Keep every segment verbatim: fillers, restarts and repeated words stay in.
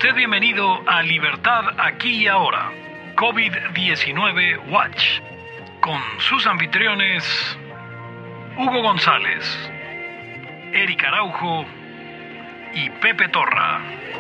usted bienvenido a Libertad Aquí y Ahora, COVID diecinueve Watch, con sus anfitriones Hugo González, Eric Araujo y Pepe Torra.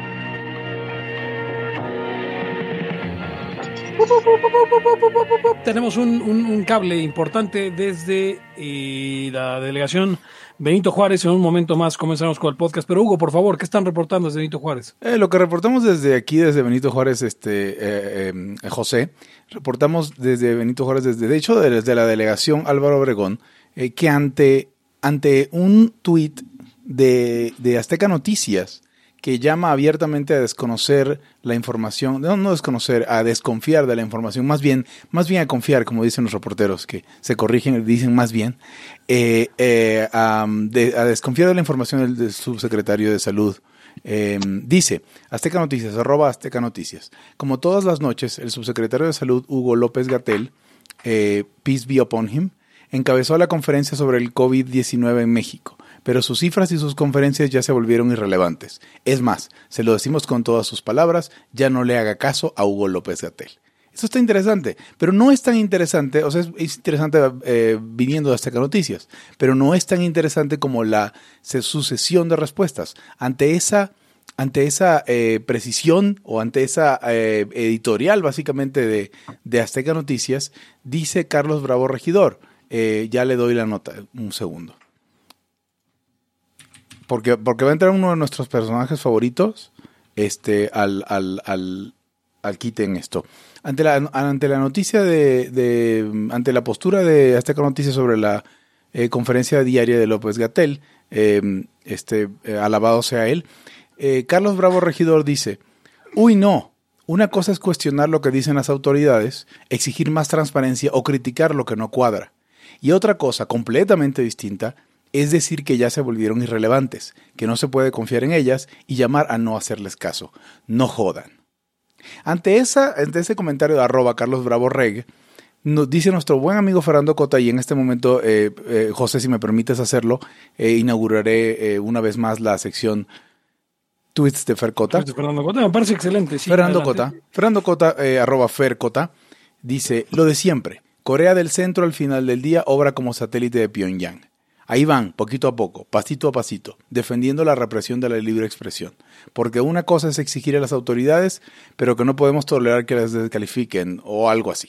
Tenemos un, un, un cable importante desde eh, la delegación Benito Juárez. En un momento más comenzamos con el podcast. Pero Hugo, por favor, ¿qué están reportando desde Benito Juárez? Eh, lo que reportamos desde aquí, desde Benito Juárez, este eh, eh, José, reportamos desde Benito Juárez, desde, de hecho, desde la delegación Álvaro Obregón, eh, que ante, ante un tuit de, de Azteca Noticias, que llama abiertamente a desconocer la información, no, no desconocer, a desconfiar de la información, más bien, más bien a confiar, como dicen los reporteros, que se corrigen y dicen más bien, eh, eh, a, de, a desconfiar de la información del, del subsecretario de Salud. Eh, dice, Azteca Noticias, arroba Azteca Noticias, como todas las noches, el subsecretario de Salud, Hugo López-Gatell, eh, peace be upon him, encabezó la conferencia sobre el COVID diecinueve en México. Pero sus cifras y sus conferencias ya se volvieron irrelevantes. Es más, se lo decimos con todas sus palabras, ya no le haga caso a Hugo López-Gatell. Eso está interesante, pero no es tan interesante, o sea, es, es interesante eh, viniendo de Azteca Noticias, pero no es tan interesante como la sucesión de respuestas. Ante esa, ante esa eh, precisión o ante esa eh, editorial básicamente de, de Azteca Noticias, dice Carlos Bravo Regidor, eh, ya le doy la nota, un segundo. Porque, porque va a entrar uno de nuestros personajes favoritos este, al, al, al, al quite en esto. Ante la, ante la noticia de, de, ante la postura de Azteca Noticias sobre la eh, conferencia diaria de López-Gatell, eh, este, eh, alabado sea él, eh, Carlos Bravo Regidor dice, uy no, una cosa es cuestionar lo que dicen las autoridades, exigir más transparencia o criticar lo que no cuadra. Y otra cosa completamente distinta es decir que ya se volvieron irrelevantes, que no se puede confiar en ellas y llamar a no hacerles caso. No jodan. Ante, esa, ante ese comentario de arroba Carlos Bravo Reg, nos dice nuestro buen amigo Fernando Cota, y en este momento, eh, eh, José, si me permites hacerlo, eh, inauguraré eh, una vez más la sección Tweets de Fer Cota. Fernando Cota, me parece excelente. Sí, Fernando adelante. Cota, Fernando Cota, eh, arroba Fer Cota, dice, lo de siempre, Corea del Centro al final del día obra como satélite de Pyongyang. Ahí van, poquito a poco, pasito a pasito, defendiendo la represión de la libre expresión. Porque una cosa es exigir a las autoridades, pero que no podemos tolerar que las descalifiquen o algo así.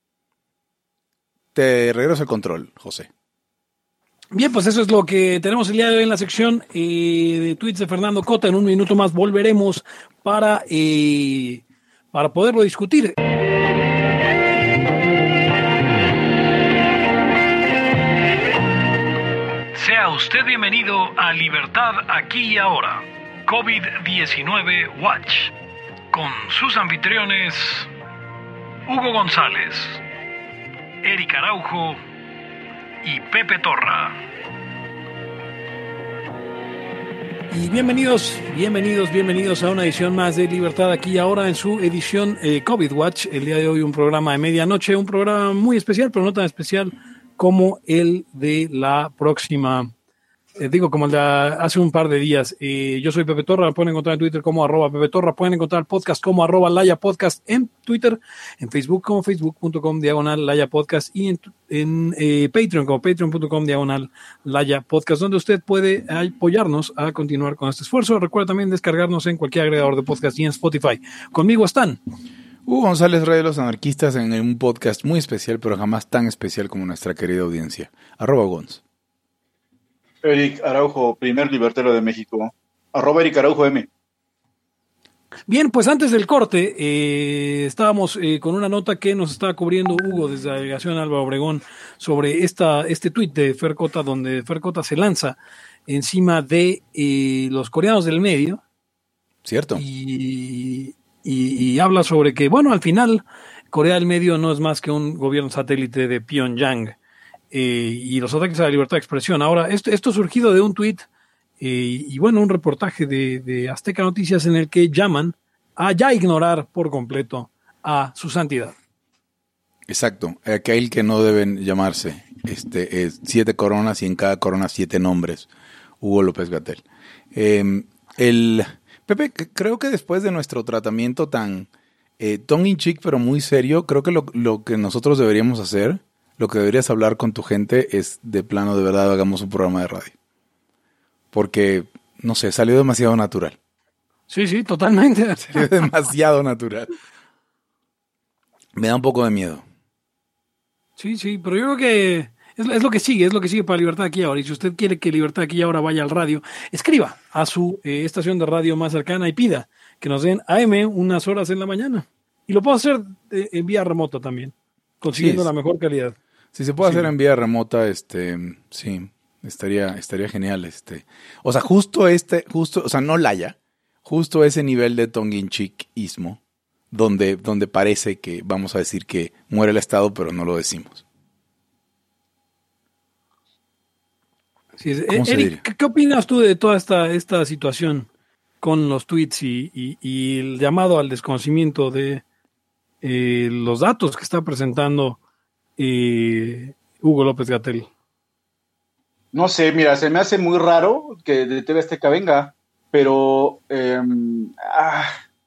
Te regreso el control, José. Bien, pues eso es lo que tenemos el día de hoy en la sección eh, de tweets de Fernando Cota. En un minuto más volveremos para, eh, para poderlo discutir. Sea usted bienvenido a Libertad Aquí y Ahora, COVID diecinueve Watch, con sus anfitriones Hugo González, Eric Araujo y Pepe Torra. Y bienvenidos, bienvenidos, bienvenidos a una edición más de Libertad Aquí y Ahora en su edición eh, COVID Watch. El día de hoy un programa de medianoche, un programa muy especial, pero no tan especial como el de la próxima, eh, digo, como el de hace un par de días. Eh, yo soy Pepe Torra, me pueden encontrar en Twitter como arroba Pepe Torra, pueden encontrar el podcast como arroba Laya Podcast en Twitter, en Facebook como facebook.com diagonal Laya Podcast y en, en eh, Patreon como patreon.com diagonal Laya Podcast, donde usted puede apoyarnos a continuar con este esfuerzo. Recuerda también descargarnos en cualquier agregador de podcast y en Spotify. Conmigo están Hugo González, Rey de los Anarquistas, en un podcast muy especial, pero jamás tan especial como nuestra querida audiencia. Arroba Gonz. Eric Araujo, primer libertero de México. Arroba Eric Araujo M. Bien, pues antes del corte, eh, estábamos eh, con una nota que nos estaba cubriendo Hugo desde la delegación Álvaro Obregón sobre esta, este tuit de Fer Cota, donde Fer Cota se lanza encima de eh, los coreanos del medio. Cierto. Y... Y, y habla sobre que, bueno, al final Corea del Medio no es más que un gobierno satélite de Pyongyang eh, y los ataques a la libertad de expresión. Ahora, esto, esto surgido de un tuit eh, y, bueno, un reportaje de, de Azteca Noticias en el que llaman a ya ignorar por completo a su santidad. Exacto, aquel que no deben llamarse este, es siete coronas y en cada corona siete nombres, Hugo López-Gatell. Eh, el... Pepe, creo que después de nuestro tratamiento tan eh, tongue in cheek, pero muy serio, creo que lo, lo que nosotros deberíamos hacer, lo que deberías hablar con tu gente es de plano, de verdad, hagamos un programa de radio. Porque, no sé, salió demasiado natural. Sí, sí, totalmente. Salió demasiado natural. Me da un poco de miedo. Sí, sí, pero yo creo que es, es lo que sigue, es lo que sigue para Libertad Aquí y Ahora. Y si usted quiere que Libertad Aquí y Ahora vaya al radio, escriba a su eh, estación de radio más cercana y pida que nos den A M unas horas en la mañana. Y lo puedo hacer eh, en vía remota también, consiguiendo Sí, la mejor calidad. Si se puede Sí. hacer en vía remota, este, sí, estaría, estaría genial, este. O sea, justo este, justo, o sea, no Laya, justo ese nivel de tongue in cheek-ismo, donde, donde parece que vamos a decir que muere el Estado, pero no lo decimos. Sí, es- ¿Cómo se Eric, diría? ¿qué, qué opinas tú de toda esta, esta situación con los tweets y, y- y el llamado al desconocimiento de eh, los datos que está presentando eh, Hugo López-Gatell? No sé, mira, se me hace muy raro que de T V Azteca venga, pero eh, ah,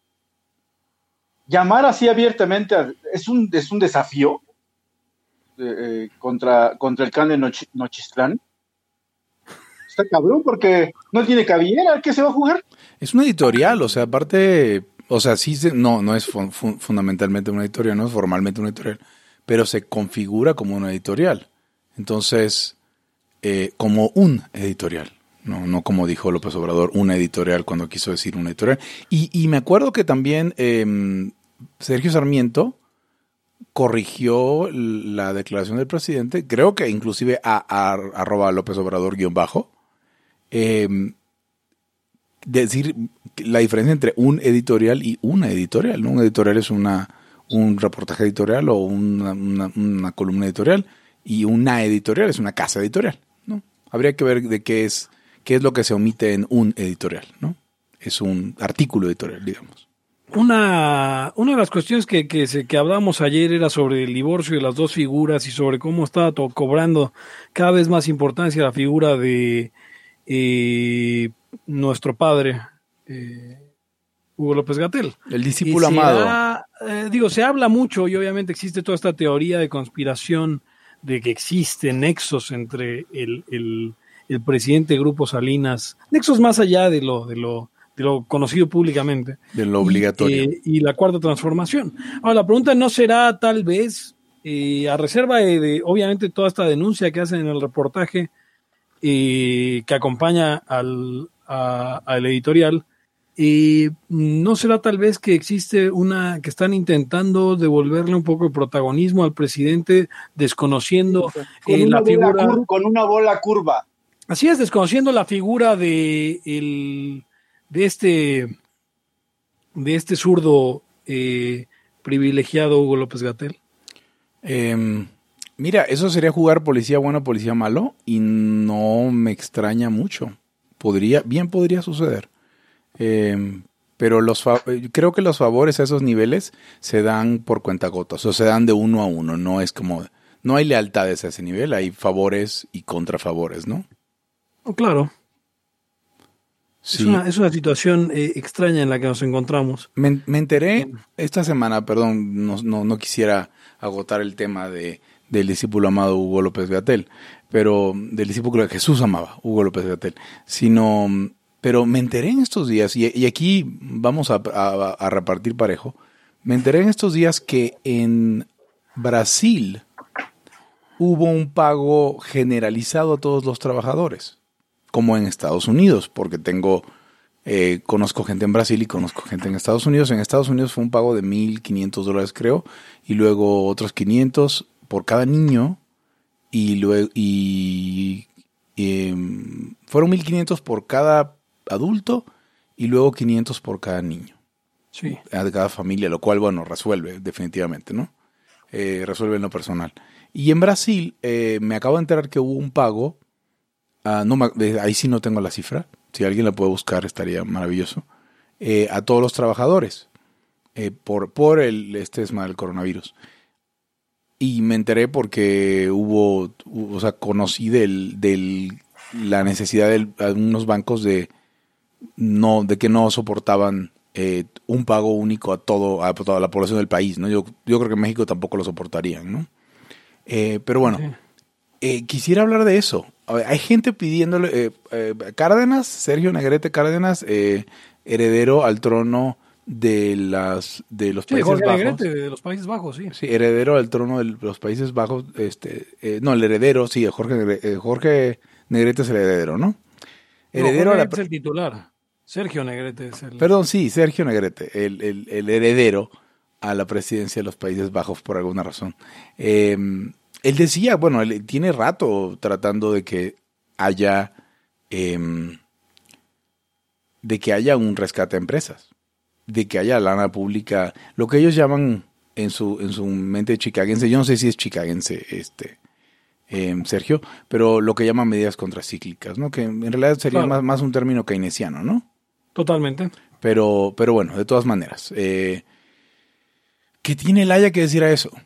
llamar así abiertamente a- es un, es un desafío eh, eh, contra, contra el clan de Nochi- Nochistlán. Está cabrón porque no tiene cabellera, ¿qué se va a jugar? Es una editorial, o sea, aparte, o sea, sí, se, no, no es fun- fun- fundamentalmente una editorial, no es formalmente una editorial, pero se configura como una editorial. Entonces, eh, como un editorial, no, no como dijo López Obrador, una editorial cuando quiso decir una editorial. Y, y me acuerdo que también eh, Sergio Sarmiento corrigió la declaración del presidente, creo que inclusive a, a arroba López Obrador guión bajo, eh, decir la diferencia entre un editorial y una editorial, ¿no? Un editorial es una un reportaje editorial o una, una, una columna editorial y una editorial es una casa editorial, ¿no? Habría que ver de qué es qué es lo que se omite en un editorial, ¿no? Es un artículo editorial, digamos. Una, una de las cuestiones que, que, se, que hablamos ayer era sobre el divorcio de las dos figuras y sobre cómo estaba to- cobrando cada vez más importancia la figura de eh, nuestro padre, eh, Hugo López-Gatell. El discípulo Y se amado. ha, eh, digo, se habla mucho y obviamente existe toda esta teoría de conspiración de que existen nexos entre el, el, el presidente Grupo Salinas, nexos más allá de lo, de lo, de lo conocido públicamente. De lo obligatorio. Y, eh, y la cuarta transformación. Ahora, la pregunta no será tal vez, eh, a reserva de, de, obviamente, toda esta denuncia que hacen en el reportaje eh, que acompaña al, a, al editorial, eh, no será tal vez que existe una, que están intentando devolverle un poco de protagonismo al presidente, desconociendo Con, eh, una la figura. bola cur- con una bola curva. Así es, desconociendo la figura de el de este de este zurdo eh, privilegiado Hugo López-Gatell. Eh, mira, eso sería jugar policía bueno, policía malo, y no me extraña mucho. Podría, bien podría suceder. Eh, pero los fa- creo que los favores a esos niveles se dan por cuentagotas, o se dan de uno a uno. No es como, no hay lealtades a ese nivel, hay favores y contrafavores, ¿no? Oh, claro. Sí. Es, una, es una situación eh, extraña en la que nos encontramos. Me, me enteré esta semana, perdón, no, no, no quisiera agotar el tema de, del discípulo amado Hugo López-Gatell, pero del discípulo que Jesús amaba, Hugo López-Gatell, sino, pero me enteré en estos días, y, y aquí vamos a, a, a repartir parejo, me enteré en estos días que en Brasil hubo un pago generalizado a todos los trabajadores, como en Estados Unidos, porque tengo, eh, conozco gente en Brasil y conozco gente en Estados Unidos. En Estados Unidos fue un pago de mil quinientos dólares, creo, y luego otros quinientos por cada niño, y luego y, y um, fueron mil quinientos por cada adulto y luego quinientos por cada niño. Sí. De cada familia, lo cual, bueno, resuelve definitivamente, ¿no? Eh, resuelve en lo personal. Y en Brasil eh, me acabo de enterar que hubo un pago. Uh, no, ahí sí no tengo la cifra. Si alguien la puede buscar estaría maravilloso. Eh, a todos los trabajadores eh, por, por el este esma del coronavirus. Y me enteré porque hubo, hubo o sea, conocí del, del, la necesidad de algunos bancos de, no, de que no soportaban eh, un pago único a todo a toda la población del país, ¿no? Yo, yo creo que en México tampoco lo soportarían, ¿no? Eh, pero bueno, sí. eh, quisiera hablar de eso. A ver, hay gente pidiéndole, eh, eh, Cárdenas, Sergio Negrete Cárdenas, eh, heredero al trono de las de los sí, Países Jorge Bajos. Negrete de los Países Bajos, sí. Sí, heredero al trono de los Países Bajos, este, eh, no, el heredero, sí, Jorge Negrete, eh, Jorge Negrete es el heredero, ¿no? Heredero no, a la... es el titular. Sergio Negrete es el... Perdón, sí, Sergio Negrete, el, el, el heredero a la presidencia de los Países Bajos por alguna razón. Eh, él decía, bueno, él tiene rato tratando de que haya eh, de que haya un rescate a empresas, de que haya lana pública, lo que ellos llaman en su en su mente chicagense, yo no sé si es chicagense este eh, Sergio, pero lo que llaman medidas contracíclicas, ¿no? Que en realidad sería claro. más, más un término keynesiano, ¿no? Totalmente. Pero, pero bueno, de todas maneras, eh, ¿qué tiene el Haya que decir a eso?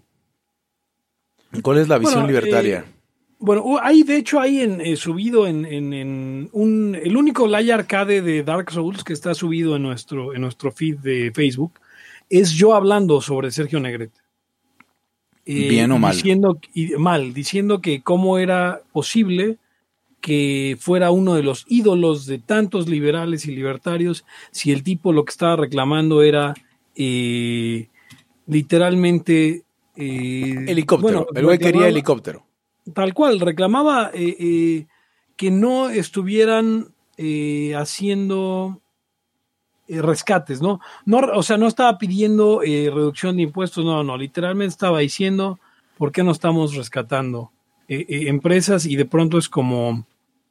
¿Cuál es la visión bueno, libertaria? Eh, bueno, hay de hecho hay en, eh, subido en, en, en un el único Laya Arcade de Dark Souls que está subido en nuestro en nuestro feed de Facebook es yo hablando sobre Sergio Negrete. Eh, Bien o mal. Diciendo, y, mal, diciendo que cómo era posible que fuera uno de los ídolos de tantos liberales y libertarios si el tipo lo que estaba reclamando era eh, literalmente eh, helicóptero, bueno, el güey quería helicóptero. Tal cual, reclamaba eh, eh, que no estuvieran eh, haciendo eh, rescates, ¿no? no o sea, no estaba pidiendo eh, reducción de impuestos, no, no, literalmente estaba diciendo por qué no estamos rescatando eh, eh, empresas y de pronto es como,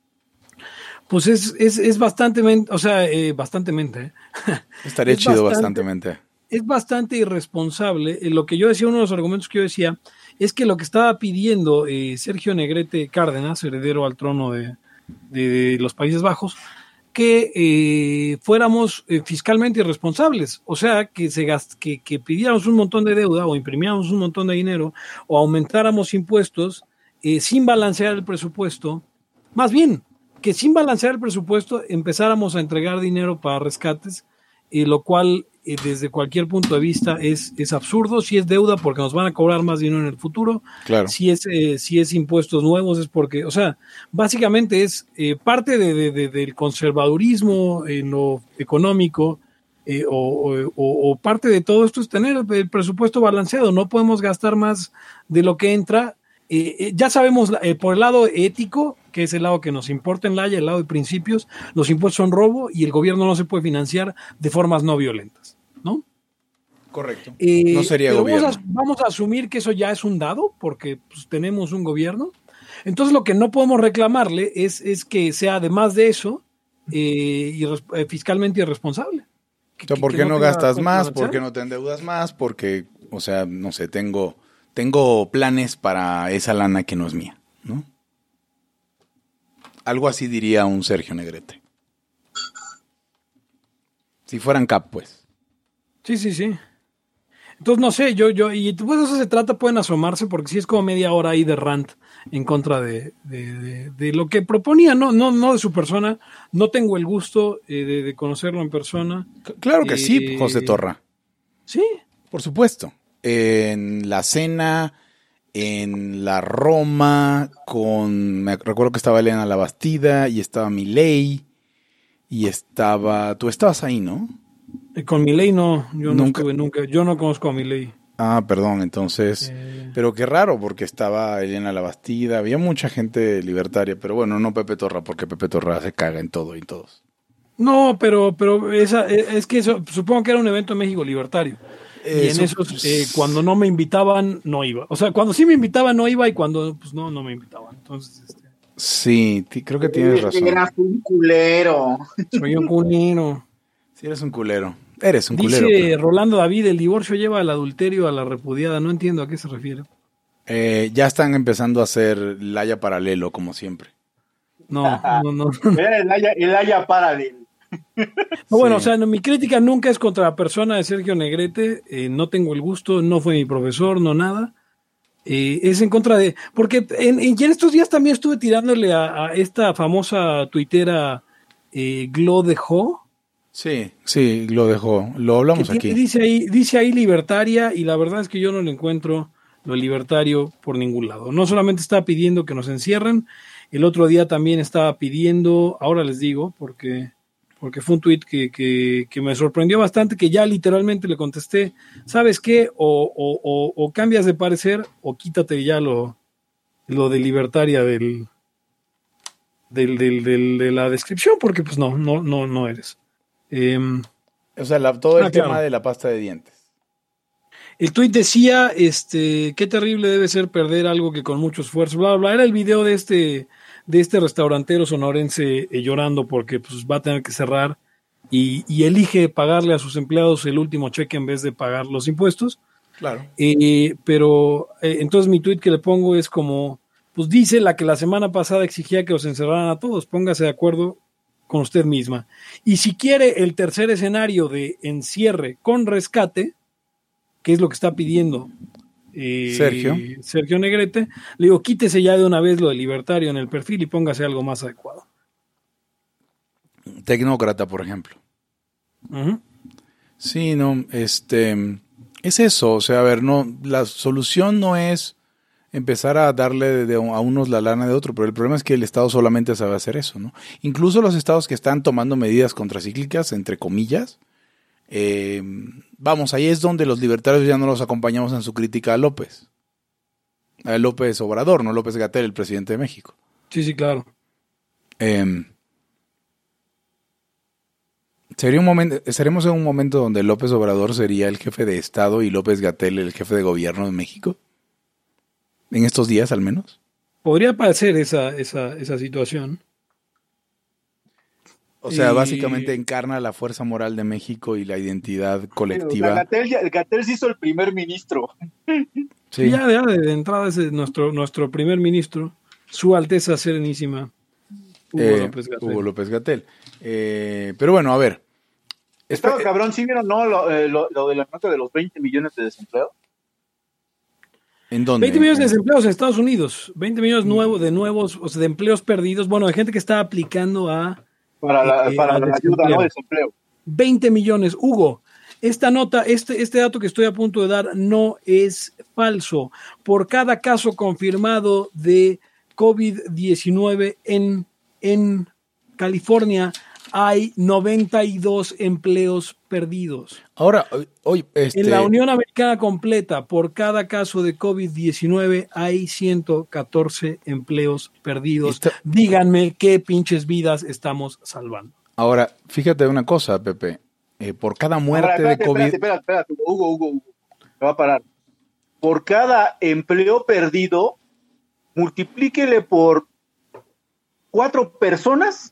pues es, es, es bastante, o sea, eh, bastantemente. ¿eh? Estaría es chido bastante, bastantemente. Es bastante irresponsable. Eh, lo que yo decía, uno de los argumentos que yo decía, es que lo que estaba pidiendo eh, Sergio Negrete Cárdenas, heredero al trono de, de, de los Países Bajos, que eh, fuéramos eh, fiscalmente irresponsables, o sea, que, se gast que, que pidiéramos un montón de deuda o imprimiéramos un montón de dinero o aumentáramos impuestos eh, sin balancear el presupuesto, más bien, que sin balancear el presupuesto empezáramos a entregar dinero para rescates, eh, lo cual eh, desde cualquier punto de vista es, es absurdo. Si es deuda porque nos van a cobrar más dinero en el futuro, claro. si es eh, si es impuestos nuevos es porque, o sea, básicamente es eh, parte de, de, de, del conservadurismo en lo económico eh, o, o, o parte de todo esto es tener el presupuesto balanceado. No podemos gastar más de lo que entra. Eh, eh, ya sabemos eh, por el lado ético, que es el lado que nos importa en Laya, el lado de principios, los impuestos son robo y el gobierno no se puede financiar de formas no violentas, ¿no? Correcto. Eh, no sería pero gobierno. Vamos a, vamos a asumir que eso ya es un dado, porque pues, tenemos un gobierno. Entonces lo que no podemos reclamarle es, es que sea además de eso eh, irres, eh, fiscalmente irresponsable. Que, o sea, ¿por qué no, no gastas más? ¿Por qué no te endeudas más? Porque, o sea, no sé, tengo... Tengo planes para esa lana que no es mía, ¿no? Algo así diría un Sergio Negrete. Si fueran cap, pues. Sí, sí, sí. Entonces, no sé, yo, yo, y pues eso se trata, pueden asomarse, porque sí es como media hora ahí de rant en contra de, de, de, de lo que proponía, no, no, no de su persona. No tengo el gusto eh, de, de conocerlo en persona. Claro que eh, sí, José Torra. Sí. Por supuesto. En la cena, en la Roma, con me recuerdo que estaba Elena La Bastida y estaba Milei y estaba, tú estabas ahí, ¿no? Con Milei no, yo no nunca. estuve nunca, yo no conozco a Milei. Ah, perdón, entonces, eh... pero qué raro porque estaba Elena La Bastida, había mucha gente libertaria, pero bueno, no Pepe Torra porque Pepe Torra se caga en todo y en todos. No, pero, pero esa, es que eso, supongo que era un evento en México libertario. Y en esos, eh, cuando no me invitaban, no iba. O sea, cuando sí me invitaban, no iba, y cuando pues no, no me invitaban. Entonces, este... Sí, creo que tienes razón. Eras un culero. Soy un culero. Sí, eres un culero. Eres un Dice culero. Dice Rolando David, el divorcio lleva al adulterio a la repudiada. No entiendo a qué se refiere. Eh, ya están empezando a hacer Laya paralelo, como siempre. No, no, no. el Laya, el Laya paralelo. No, bueno, sí. O sea, no, mi crítica nunca es contra la persona de Sergio Negrete, eh, no tengo el gusto, no fue mi profesor, no nada, eh, es en contra de, porque en, en, en estos días también estuve tirándole a, a esta famosa tuitera eh, Glo dejó. Sí, sí, lo dejó. Lo hablamos que aquí. Tiene, dice ahí, dice ahí libertaria, y la verdad es que yo no le encuentro lo libertario por ningún lado. No solamente está pidiendo que nos encierren, el otro día también estaba pidiendo, ahora les digo, porque, porque fue un tuit que, que, que me sorprendió bastante, que ya literalmente le contesté, ¿sabes qué? O, o, o, o cambias de parecer o quítate ya lo, lo de libertaria del, del, del, del, de la descripción, porque pues no, no, no, no eres. Eh, O sea, la, todo el ah, tema claro. de la pasta de dientes. El tuit decía, este, qué terrible debe ser perder algo que con mucho esfuerzo, bla, bla, bla. Era el video de este, de este restaurantero sonorense eh, llorando porque pues, va a tener que cerrar y, y elige pagarle a sus empleados el último cheque en vez de pagar los impuestos. Claro. Eh, pero eh, entonces mi tuit que le pongo es como, pues dice la que la semana pasada exigía que los encerraran a todos, póngase de acuerdo con usted misma. Y si quiere el tercer escenario de encierre con rescate, que es lo que está pidiendo eh, Sergio. Sergio Negrete, le digo, quítese ya de una vez lo de libertario en el perfil y póngase algo más adecuado. Tecnócrata, por ejemplo. Uh-huh. Sí, no, este, es eso, o sea, a ver, no, la solución no es empezar a darle de, de a unos la lana de otro, pero el problema es que el Estado solamente sabe hacer eso, ¿no? Incluso los estados que están tomando medidas contracíclicas, entre comillas, eh, vamos, ahí es donde los libertarios ya no los acompañamos en su crítica a López. A López Obrador, no López Gatell, el presidente de México. Sí, sí, claro. Eh, sería un momento, estaremos en un momento donde López Obrador sería el jefe de Estado y López Gatell el jefe de gobierno de México. En estos días, al menos. Podría parecer esa, esa, esa situación. O sea, Y- básicamente encarna la fuerza moral de México y la identidad colectiva. O sea, Gatell, ya- Gatell se hizo el primer ministro. Sí. Ya, ya de, de entrada es nuestro, nuestro primer ministro, Su Alteza Serenísima, Hugo Eh, López Gatell. Hugo López Gatell. Eh, pero bueno, a ver. Estaba Espe- cabrón, ¿sí vieron no, lo, eh, lo, lo de la nota de los veinte millones de desempleados? ¿En dónde? veinte millones de En- desempleados en Estados Unidos, veinte millones nuevos, de nuevos, o sea, de empleos perdidos, bueno, de gente que está aplicando a Para la, Eh, para al la ayuda, desempleo. ¿no? Desempleo. veinte millones. Hugo, esta nota, este, este dato que estoy a punto de dar no es falso. Por cada caso confirmado de COVID diecinueve en, en California hay noventa y dos empleos perdidos. Ahora, hoy, hoy, este, En la Unión Americana completa, por cada caso de COVID diecinueve hay ciento catorce empleos perdidos. Está- Díganme qué pinches vidas estamos salvando. ahora, fíjate una cosa, Pepe. Eh, por cada muerte Ahora, espérate, de COVID. espérate, espérate, espérate, Hugo, Hugo, Hugo. Me va a parar. Por cada empleo perdido, multiplíquele por cuatro personas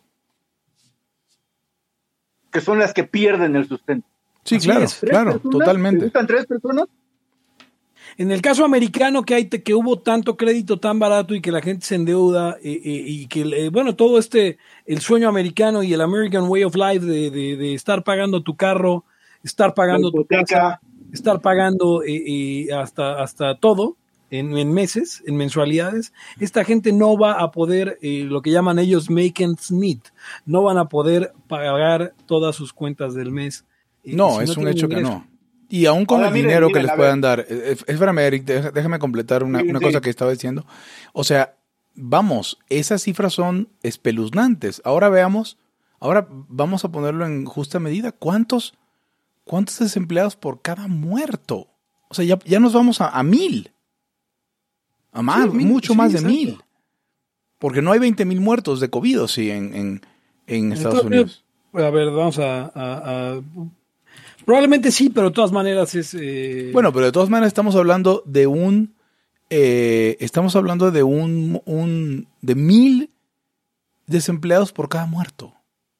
que son las que pierden el sustento. Sí, Así claro, es. ¿Tres claro, personas? ¿Te totalmente. gustan tres personas? En el caso americano que hay que hubo tanto crédito tan barato y que la gente se endeuda eh, eh, y que eh, bueno todo este el sueño americano y el American Way of Life de, de, de estar pagando tu carro, estar pagando La tu hipoteca. casa, estar pagando eh, eh, hasta hasta todo en, en meses, en mensualidades, esta gente no va a poder eh, lo que llaman ellos make ends meet, no van a poder pagar todas sus cuentas del mes. eh, No, si es un tienen hecho que ingreso. no. Y aún con Ahora, el miren, dinero miren, que les a puedan ver. dar. eh, Espérame, Eric, deja- déjame completar una, Sí, una sí. cosa que estaba diciendo. O sea, vamos, esas cifras son espeluznantes. Ahora veamos, ahora vamos a ponerlo en justa medida. ¿Cuántos, cuántos desempleados por cada muerto? O sea, ya, ya nos vamos a, a mil. A más, Sí, mil, mucho sí, más de exacto. mil. Porque no hay veinte mil muertos de COVID, ¿o sí, en, en, en Estados Entonces, Unidos. A ver, vamos a, a- a- probablemente sí, pero de todas maneras es... eh, Bueno, pero de todas maneras estamos hablando de un, eh, estamos hablando de un, un, de mil desempleados por cada muerto.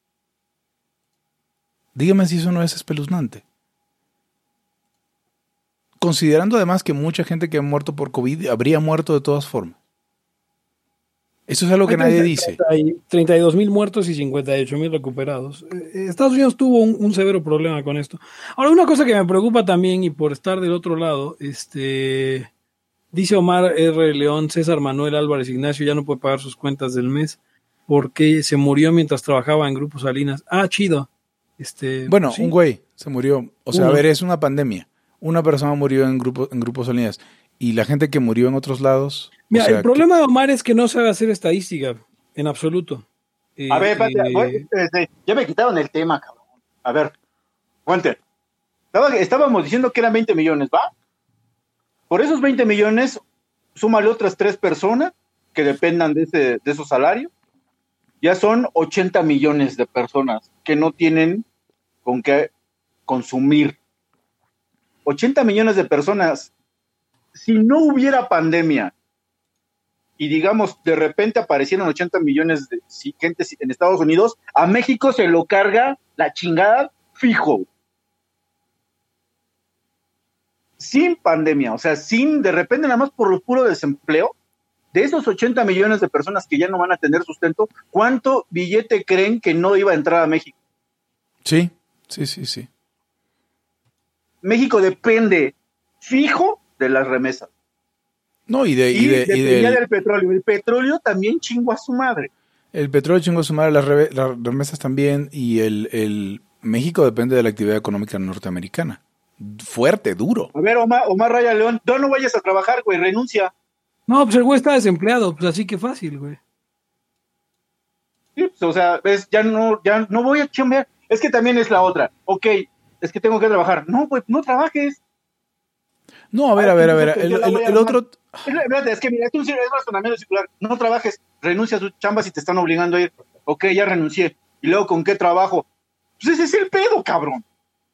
Dígame si eso no es espeluznante. Considerando además que mucha gente que ha muerto por COVID habría muerto de todas formas. Eso es algo que hay nadie treinta dice. Hay treinta y dos mil muertos y cincuenta y ocho mil recuperados. Eh, Estados Unidos tuvo un, un severo problema con esto. Ahora, una cosa que me preocupa también, y por estar del otro lado, este dice Omar R. León, César Manuel Álvarez Ignacio ya no puede pagar sus cuentas del mes. porque se murió mientras trabajaba en Grupo Salinas. Ah, chido. Este, bueno, ¿sí? un güey se murió. O sea, Uno. a ver, es una pandemia. Una persona murió en grupo, en Grupo Salinas. Y la gente que murió en otros lados. Mira, o sea, el problema de Omar es que no sabe hacer estadística, en absoluto. Eh, A ver, espérate, eh, voy- este, ya me quitaron el tema, cabrón. A ver, Fuente. Estaba- estábamos diciendo que eran veinte millones, ¿va? Por esos veinte millones, súmale otras tres personas que dependan de, ese, de esos salarios. Ya son ochenta millones de personas que no tienen con qué consumir. ochenta millones de personas. Si no hubiera pandemia y digamos de repente aparecieron ochenta millones de si- gente en Estados Unidos, a México se lo carga la chingada fijo. Sin pandemia, o sea, sin de repente nada más por lo puro desempleo, de esos ochenta millones de personas que ya no van a tener sustento, ¿cuánto billete creen que no iba a entrar a México? sí, sí, sí, sí. México depende fijo de las remesas. No, y de, Y, y de, y dependía del- del petróleo. El petróleo también chingó a su madre. el petróleo chingó a su madre, las, reve- las remesas también, y el, el México depende de la actividad económica norteamericana. Fuerte, duro. A ver, Omar, Omar Raya León, no, no vayas a trabajar, güey, renuncia. No, pues el güey está desempleado, pues así que fácil, güey. Sí, pues, o sea, ves, ya no, ya no voy a chambear. Es que también es la otra. Ok, es que tengo que trabajar. No, güey, no trabajes. No, a ver, a ver, a ver. El, el- el otro. Es, la verdad, es que mira, es un es razonamiento circular. No trabajes, renuncia a tus chambas y te están obligando a ir. Ok, ya renuncié. Y luego, ¿con qué trabajo? Pues ese es el pedo, cabrón.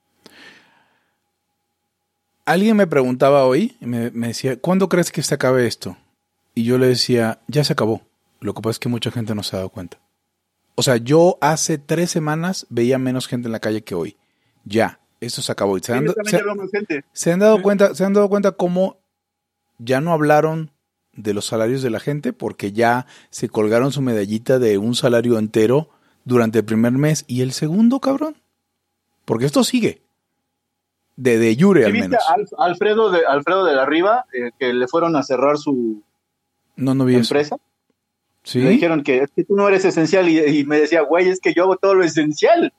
Alguien me preguntaba hoy, me, me decía, ¿cuándo crees que se acabe esto? Y yo le decía, ya se acabó. Lo que pasa es que mucha gente no se ha dado cuenta. O sea, yo hace tres semanas veía menos gente en la calle que hoy. Ya, esto se acabó. Y se, Sí, han, yo también se- ya veo más gente. se han dado cuenta, se han dado cuenta cómo ya no hablaron de los salarios de la gente porque ya se colgaron su medallita de un salario entero durante el primer mes y el segundo, cabrón. Porque esto sigue. De, de jure, ¿Sí al viste menos. a Al- Alfredo de Alfredo de la Riva, eh, que le fueron a cerrar su No, no vi eso. empresa? ¿Sí? Le dijeron que es que tú no eres esencial y, y me decía, güey, es que yo hago todo lo esencial.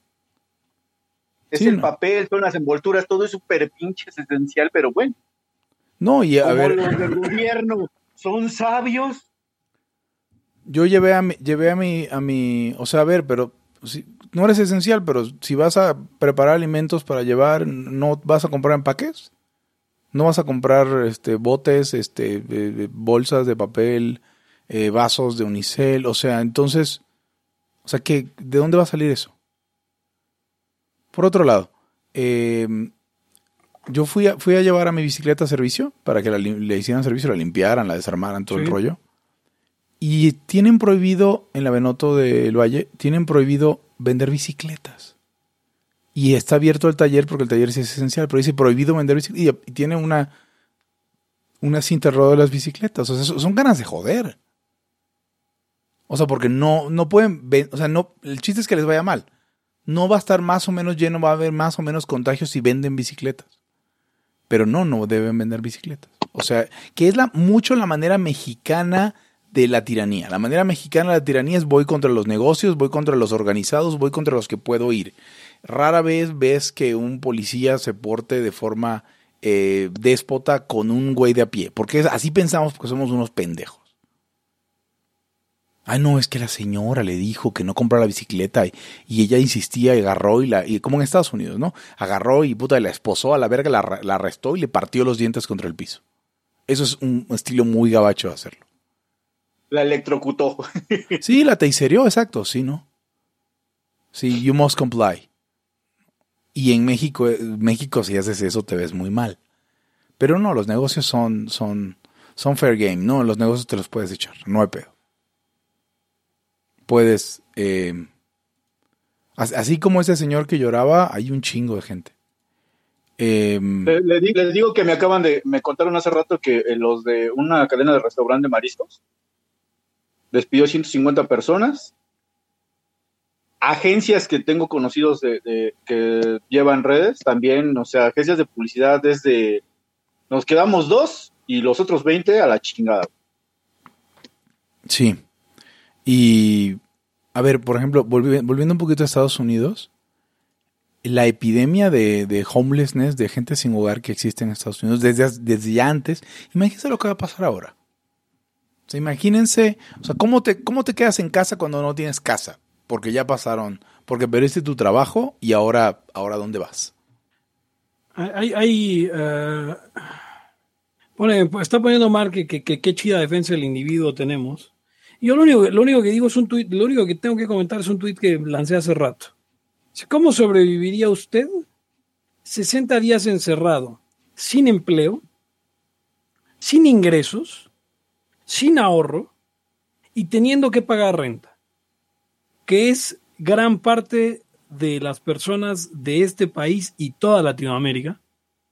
Es Sí, el no. papel, son las envolturas, todo es súper pinche esencial, pero bueno, No, y a como ver, los del gobierno son sabios. yo llevé a mi, llevé a mi, a mi, o sea, a ver, pero si, no eres esencial, pero si vas a preparar alimentos para llevar, ¿no vas a comprar empaques? ¿No vas a comprar este botes, este eh, bolsas de papel, eh, vasos de unicel? O sea, entonces, o sea, ¿qué, ¿de dónde va a salir eso? Por otro lado, eh, yo fui a, fui a llevar a mi bicicleta a servicio para que la, lim- le hicieran servicio, la limpiaran, la desarmaran, todo Sí. el rollo. Y tienen prohibido, en la Benoto del Valle, tienen prohibido vender bicicletas. Y está abierto el taller porque el taller sí es esencial, pero dice prohibido vender bicicletas. Y, y tiene una, una cinta alrededor de las bicicletas. O sea, son, son ganas de joder. O sea, porque no, no pueden, ven- o sea, no, el chiste es que les vaya mal. No va a estar más o menos lleno, va a haber más o menos contagios si venden bicicletas. Pero no, no deben vender bicicletas. O sea, que es la, mucho la manera mexicana de la tiranía. La manera mexicana de la tiranía es voy contra los negocios, voy contra los organizados, voy contra los que puedo ir. Rara vez ves que un policía se porte de forma eh, déspota con un güey de a pie. Porque es, así pensamos porque somos unos pendejos. Ah, no, es que la señora le dijo que no comprara la bicicleta y, y ella insistía y agarró y la, y como en Estados Unidos, ¿no? Agarró y puta, la esposó a la verga, la, la arrestó y le partió los dientes contra el piso. Eso es un estilo muy gabacho de hacerlo. La electrocutó. Sí, la tasereó, exacto, sí, ¿no? Sí, you must comply. Y en México, eh, México si haces eso te ves muy mal. Pero no, los negocios son, son, son fair game, ¿no? Los negocios te los puedes echar, no hay pedo. Puedes, eh, así como ese señor que lloraba, hay un chingo de gente. Eh, Le- le di- les digo que me acaban de, me contaron hace rato que eh, los de una cadena de restaurante de mariscos despidió ciento cincuenta personas. Agencias que tengo conocidos de, de- que llevan redes también, o sea, agencias de publicidad desde nos quedamos dos y los otros veinte a la chingada. sí. Y A ver, por ejemplo, volvi- volviendo un poquito a Estados Unidos, la epidemia de, de homelessness, de gente sin hogar que existe en Estados Unidos desde, desde ya antes, imagínense lo que va a pasar ahora. O sea, imagínense, o sea, ¿cómo te, cómo te quedas en casa cuando no tienes casa? Porque ya pasaron, porque perdiste tu trabajo y ahora, ahora ¿dónde vas? Hay, hay uh, pone, está poniendo Mark que qué que, que chida defensa del individuo tenemos. Y yo lo único, lo único que digo es un tuit, lo único que tengo que comentar es un tuit que lancé hace rato. ¿Cómo sobreviviría usted sesenta días encerrado, sin empleo, sin ingresos, sin ahorro y teniendo que pagar renta? Que es gran parte de las personas de este país y toda Latinoamérica.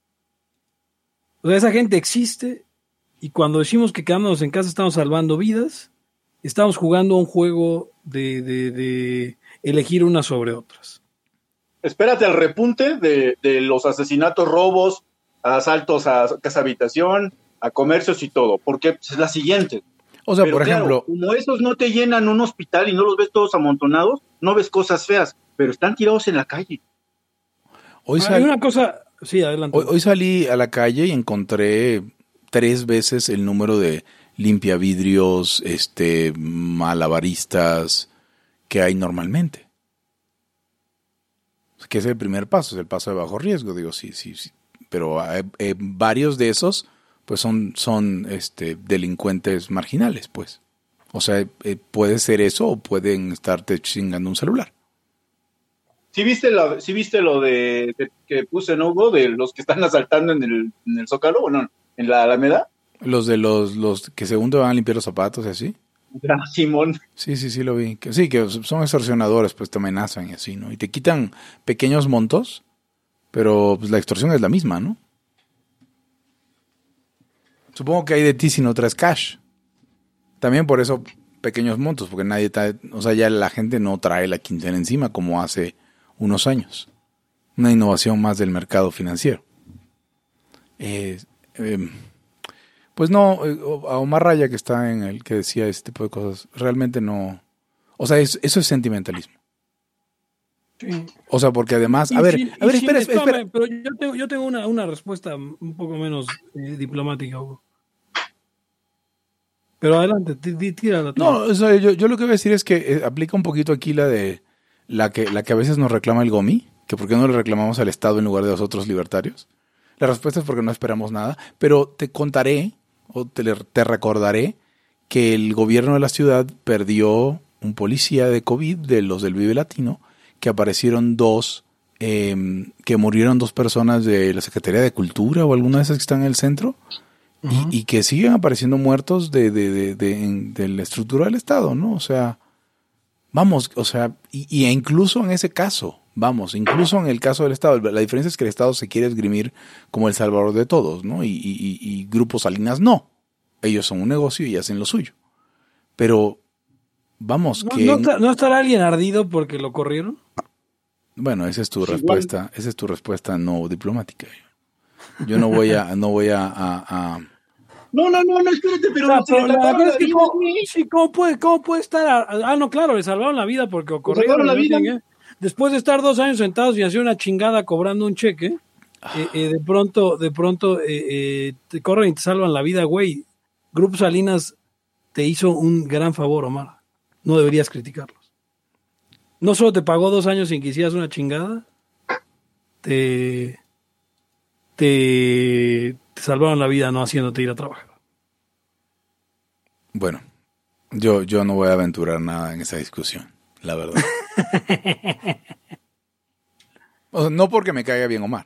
O sea, esa gente existe y cuando decimos que quedándonos en casa estamos salvando vidas, estamos jugando un juego de, de, de elegir unas sobre otras. Espérate al repunte de, de los asesinatos, robos, asaltos a casa habitación, a comercios y todo, porque es la siguiente. O sea, pero por claro, ejemplo, como esos no te llenan un hospital y no los ves todos amontonados, no ves cosas feas, pero están tirados en la calle. Hoy, Hay sal, una cosa, sí, adelante. Hoy, hoy salí a la calle y encontré tres veces el número de limpiavidrios, este, malabaristas que hay normalmente. Que es el primer paso, es el paso de bajo riesgo, digo, sí, sí, sí. Pero eh, eh, varios de esos, pues son, son este, delincuentes marginales, pues. O sea, eh, puede ser eso o pueden estarte chingando un celular. ¿Sí viste lo, sí viste lo de, de que puse en Hugo de los que están asaltando en el, en el Zócalo, o no, en la Alameda? Los de los, los que según te van a limpiar los zapatos y así. Ah, Simón. Sí, sí, sí lo vi. Que, sí, que son extorsionadores, pues te amenazan y así, ¿no? Y te quitan pequeños montos, pero pues la extorsión es la misma, ¿no? Supongo que hay de ti si no traes cash. También por eso pequeños montos, porque nadie trae, o sea, ya la gente no trae la quincena encima como hace unos años. Una innovación más del mercado financiero. Eh, eh, pues no, a Omar Raya que está en el que decía ese tipo de cosas, realmente no, o sea, es, eso es sentimentalismo. Sí. O sea, porque además, Y a ver, sin- a ver, y sin espera, espame, espera. Pero yo tengo, yo tengo una, una respuesta un poco menos eh, diplomática, Hugo. Pero adelante, tí- tí- tírala. tú. No, o sea, yo, yo lo que voy a decir es que eh, aplica un poquito aquí la de la que, la que a veces nos reclama el GOMI, que por qué no le reclamamos al Estado en lugar de los otros libertarios. La respuesta es porque no esperamos nada, pero te contaré o te, le- te recordaré que el gobierno de la ciudad perdió un policía de COVID de los del Vive Latino, que aparecieron dos, eh, que murieron dos personas de la Secretaría de Cultura o alguna de esas que están en el centro. Ujú. Y, y que siguen apareciendo muertos de, de, de, de, en- de la estructura del Estado, ¿no? O sea, vamos, o sea, y, y incluso en ese caso, vamos, incluso en el caso del Estado, la diferencia es que el Estado se quiere esgrimir como el salvador de todos, ¿no? Y, y, y, y Grupo Salinas no. Ellos son un negocio y hacen lo suyo. Pero, vamos, ¿No, que... no está- ¿no estará alguien ardido porque lo corrieron? Bueno, esa es tu Sí, respuesta, esa es tu respuesta no diplomática. Yo no voy a, no voy a, a, a No, no, no, no, espérate, pero, O sea, no se pero le la taparon verdad la es que vida, ¿cómo, güey. sí, ¿cómo puede, cómo puede estar? a- Ah, no, claro, le salvaron la vida porque lo corrieron. salvaron la no vida. tiene que- Después de estar dos años sentados y hacer una chingada cobrando un cheque, eh, eh, de pronto, de pronto eh, eh, te corren y te salvan la vida, güey. Grupo Salinas te hizo un gran favor, Omar. No deberías criticarlos. No solo te pagó dos años sin que hicieras una chingada, te, te, te salvaron la vida no haciéndote ir a trabajar. Bueno, yo, yo no voy a aventurar nada en esa discusión, la verdad. O sea, no porque me caiga bien Omar.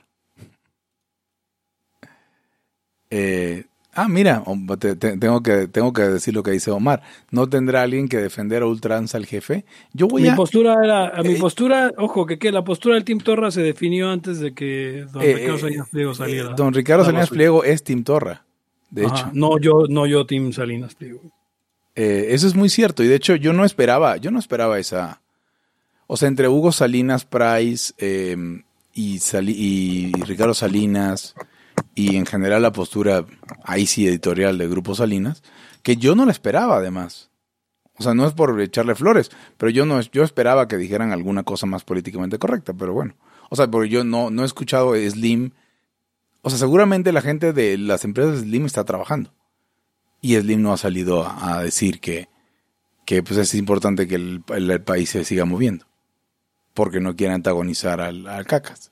Eh, ah, mira, te- te- tengo que, tengo que decir lo que dice Omar. ¿No tendrá alguien que defender a ultranza al jefe? Yo voy Mi a... postura era, a mi Eh, postura, ojo, que, que la postura del Team Torra se definió antes de que don eh, Ricardo eh, Salinas Pliego eh, saliera. don Ricardo a Salinas la Pliego es Team Torra, de Ajá, hecho. No yo, no yo Team Salinas Pliego. Eh, eso es muy cierto y de hecho yo no esperaba, yo no esperaba esa, o sea, entre Hugo Salinas Price eh, y, Sali- y Ricardo Salinas y en general la postura ahí sí editorial de Grupo Salinas, que yo no la esperaba además. O sea, no es por echarle flores, pero yo no yo esperaba que dijeran alguna cosa más políticamente correcta, pero bueno. O sea, porque yo no, no he escuchado Slim. O sea, seguramente la gente de las empresas Slim está trabajando. Y Slim no ha salido a, a decir que, que pues es importante que el, el, el país se siga moviendo. Porque no quiere antagonizar al, al Cacas.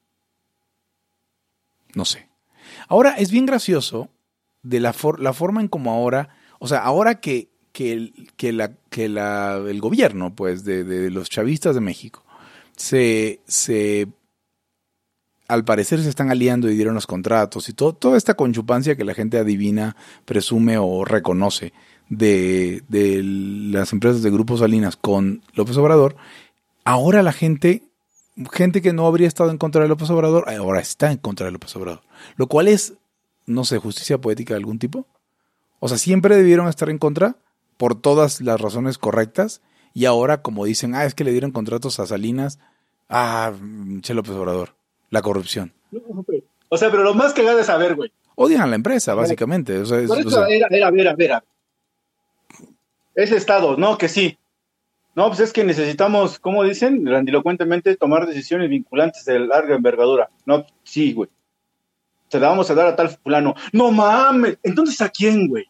No sé. Ahora, es bien gracioso de la, for, la forma en como ahora... O sea, ahora que, que, el, que, la, que la, el gobierno, pues, de, de los chavistas de México, se, se... al parecer se están aliando y dieron los contratos y todo, toda esta conchupancia que la gente adivina, presume o reconoce de, de las empresas de Grupo Salinas con López Obrador, ahora la gente, gente que no habría estado en contra de López Obrador, ahora está en contra de López Obrador. Lo cual es, no sé, justicia poética de algún tipo. O sea, siempre debieron estar en contra por todas las razones correctas y ahora como dicen, ah, es que le dieron contratos a Salinas, ah, che López Obrador. La corrupción. O sea, pero lo más cagado es saber, güey. Odian a la empresa, básicamente. O sea, es, Por eso o sea, era, era, era, era. Es Estado, no, que sí. No, pues es que necesitamos, ¿cómo dicen? Grandilocuentemente, tomar decisiones vinculantes de larga envergadura. No, sí, güey. Se la vamos a dar a tal fulano. No mames. Entonces, ¿a quién, güey?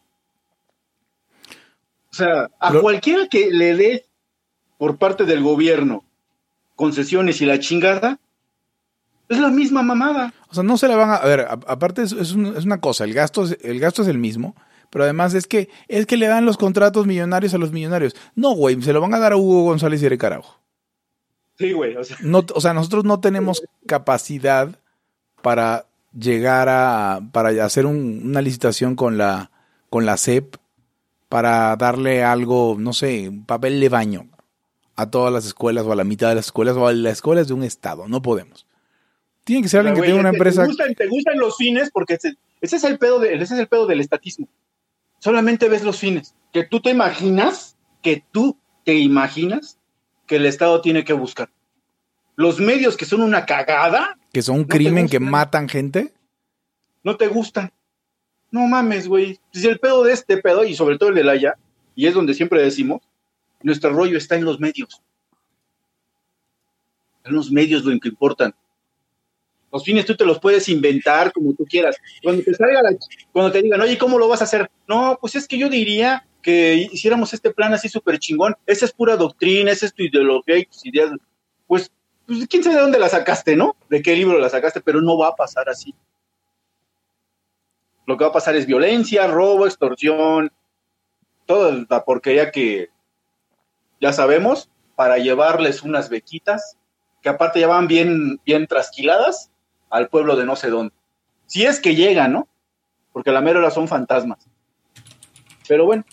O sea, a Lo... cualquiera que le dé por parte del gobierno concesiones y la chingada, es la misma mamada. O sea, no se la van a... A ver, a, aparte es, es, un, es una cosa, el gasto, es, el gasto es el mismo, pero además es que es que le dan los contratos millonarios a los millonarios. No, güey, se lo van a dar a Hugo González y Eric Araujo. Sí, güey. O sea, no, o sea, nosotros no tenemos capacidad para llegar a... para hacer un, una licitación con la, con la C E P para darle algo, no sé, un papel de baño a todas las escuelas o a la mitad de las escuelas o a las escuelas de un estado. No podemos. Tiene que ser alguien que tenga una empresa. Te gustan, te gustan los fines porque ese, ese es el pedo de, ese es el pedo del estatismo. Solamente ves los fines. Que tú te imaginas, que tú te imaginas que el Estado tiene que buscar. Los medios que son una cagada. Que son un no crimen que matan gente. No te gustan. No mames, güey. Si el pedo de este pedo, y sobre todo el de Laya, y es donde siempre decimos, nuestro rollo está en los medios. En los medios lo que importan. Los fines tú te los puedes inventar como tú quieras. Cuando te salga la, cuando te digan, oye, ¿cómo lo vas a hacer? No, pues es que yo diría que hiciéramos este plan así súper chingón. Esa es pura doctrina, esa es tu ideología y tus ideas. Pues, pues, quién sabe de dónde la sacaste, ¿no? De qué libro la sacaste, pero no va a pasar así. Lo que va a pasar es violencia, robo, extorsión, toda la porquería que ya sabemos, para llevarles unas bequitas, que aparte ya van bien, bien trasquiladas al pueblo de no sé dónde. Si es que llegan, ¿no? Porque la mera hora son fantasmas. Pero bueno,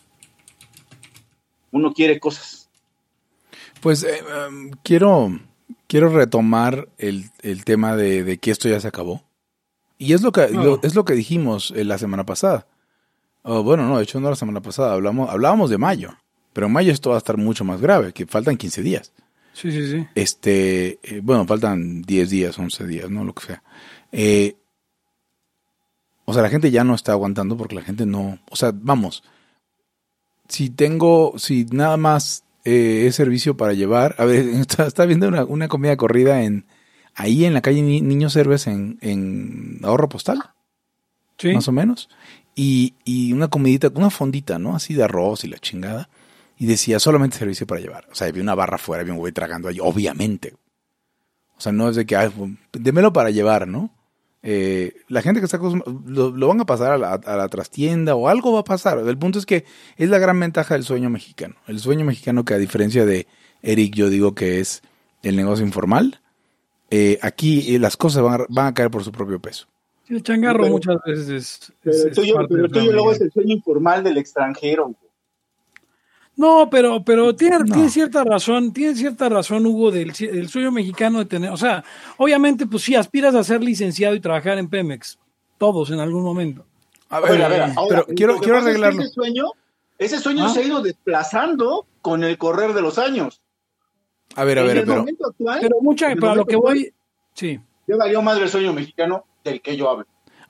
uno quiere cosas. Pues eh, um, quiero, quiero retomar el, el tema de, de que esto ya se acabó. Y es lo que, no. lo, es lo que dijimos eh, la semana pasada. Oh, bueno, no, de hecho no la semana pasada, hablamos, hablábamos de mayo. Pero en mayo esto va a estar mucho más grave, que faltan quince días. Sí, sí, sí. Este, eh, bueno, faltan diez días, once días, ¿no? Lo que sea. Eh, o sea, la gente ya no está aguantando porque la gente no... O sea, vamos, si tengo, si nada más eh, es servicio para llevar... A ver, está, está viendo una, una comida corrida en ahí en la calle Ni, Niños Héroes en, en Ahorro Postal. Sí. Más o menos. Y, y una comidita, una fondita, ¿no? Así de arroz y la chingada. Y decía, solamente servicio para llevar. O sea, había una barra afuera, había un güey tragando ahí, obviamente. O sea, no es de que, ay, démelo para llevar, ¿no? Eh, la gente que está lo, lo van a pasar a la, a la trastienda o algo va a pasar. El punto es que es la gran ventaja del sueño mexicano. El sueño mexicano que a diferencia de Eric, yo digo que es el negocio informal. Eh, aquí eh, las cosas van a, van a caer por su propio peso. El changarro pero, muchas veces es... Pero es, el tuyo, es pero el tuyo luego es el sueño informal del extranjero. No, pero, pero tiene, no. tiene cierta razón, tiene cierta razón, Hugo, del, del sueño mexicano de tener, o sea, obviamente, pues sí, aspiras a ser licenciado y trabajar en Pemex, todos en algún momento. A ver, a ver, ahora, pero quiero, quiero arreglarlo. Es ese sueño, ese sueño ¿Ah? se ha ido desplazando con el correr de los años. A ver, a ver, en el pero... momento actual, pero mucha, para lo que voy, sí. Ya valió madre el sueño mexicano del que yo hablo.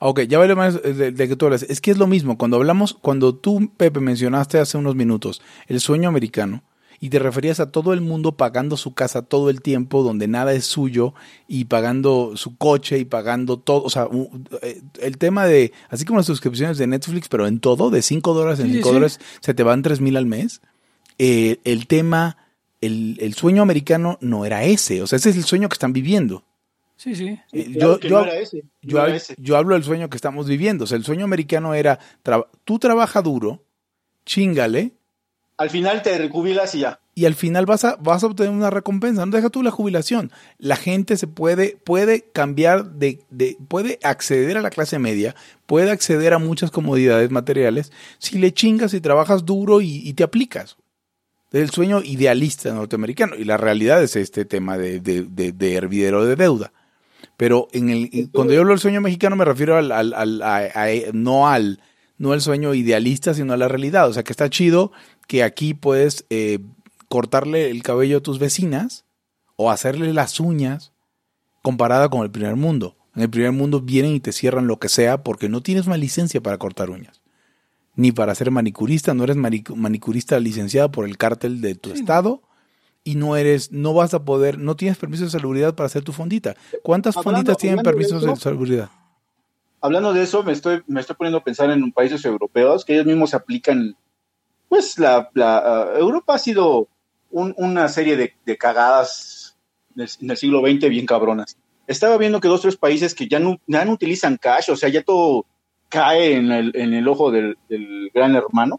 Ok, ya vale más de, de que tú hablas. Es que es lo mismo. Cuando hablamos, cuando tú, Pepe, mencionaste hace unos minutos el sueño americano y te referías a todo el mundo pagando su casa todo el tiempo, donde nada es suyo y pagando su coche y pagando todo. O sea, un, el tema de, así como las suscripciones de Netflix, pero en todo, de cinco dólares en Sí, cinco sí. dólares, se te van tres mil al mes. Eh, el tema, el, el sueño americano no era ese. O sea, ese es el sueño que están viviendo. Sí, sí. Eh, Claro yo, que yo, no era ese, yo, no era hab- ese. yo hablo del sueño que estamos viviendo. O sea, el sueño americano era, tra- tú trabaja duro, chíngale, Al final te jubilas y ya. y al final vas a, vas a obtener una recompensa. No deja tú la jubilación. La gente se puede, puede cambiar de, de, puede acceder a la clase media, puede acceder a muchas comodidades materiales si le chingas y trabajas duro y, y te aplicas. Es el sueño idealista norteamericano. Y la realidad es este tema de, de, de, de hervidero de deuda. Pero en el, cuando yo hablo del sueño mexicano me refiero al, al, al a, a, no al no al sueño idealista, sino a la realidad. O sea, que está chido que aquí puedes eh, cortarle el cabello a tus vecinas o hacerle las uñas comparada con el primer mundo. En el primer mundo vienen y te cierran lo que sea porque no tienes una licencia para cortar uñas. Ni para ser manicurista, no eres manic- manicurista licenciado por el cártel de tu Sí. estado. Y no eres, no vas a poder, no tienes permiso de salubridad para hacer tu fondita. ¿Cuántas Hablando- fonditas tienen hablando de permisos de, eso, salubridad? Hablando de eso, me estoy, me estoy poniendo a pensar en países europeos que ellos mismos aplican. Pues la, la uh, Europa ha sido un, una serie de, de cagadas en el, en el siglo veinte bien cabronas. Estaba viendo que dos o tres países que ya no, ya no utilizan cash, o sea, ya todo cae en el, en el ojo del, del gran hermano.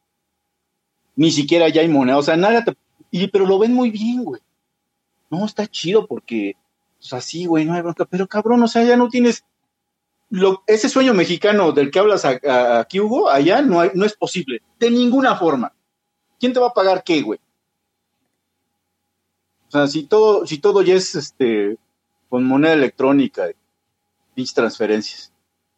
Ni siquiera ya hay moneda, o sea, nada te... Y, pero lo ven muy bien, güey. No, está chido porque, pues así, güey, no hay bronca. Pero cabrón, o sea, ya no tienes... Lo, ese sueño mexicano del que hablas a, a, aquí, Hugo, allá no, hay, no es posible. De ninguna forma. ¿Quién te va a pagar qué, güey? O sea, si todo, si todo ya es este con moneda electrónica y transferencias.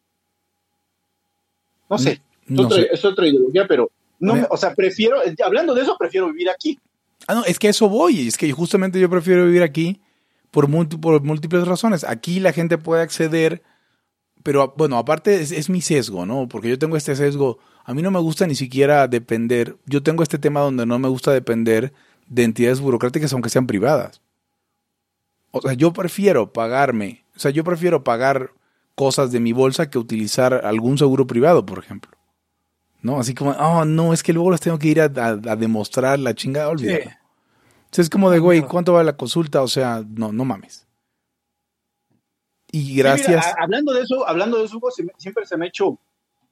No sé. No es, otra, sé. es otra ideología, pero no, Me- o sea, prefiero, hablando de eso, prefiero vivir aquí. Ah, no, es que a eso voy. Es que justamente yo prefiero vivir aquí por, multi- por múltiples razones. Aquí la gente puede acceder, pero bueno, aparte es, es mi sesgo, ¿no? Porque yo tengo este sesgo. A mí no me gusta ni siquiera depender. Yo tengo este tema donde no me gusta depender de entidades burocráticas, aunque sean privadas. O sea, yo prefiero pagarme, o sea, yo prefiero pagar cosas de mi bolsa que utilizar algún seguro privado, por ejemplo. ¿No? Así como, oh, no, es que luego las tengo que ir a, a, a demostrar la chingada, olvídalo. Sí. O sea, es como de, güey, ¿cuánto vale la consulta? O sea, no, no mames. Y gracias. Sí, mira, a- hablando de eso, hablando de eso, Hugo, se me- siempre se me ha hecho,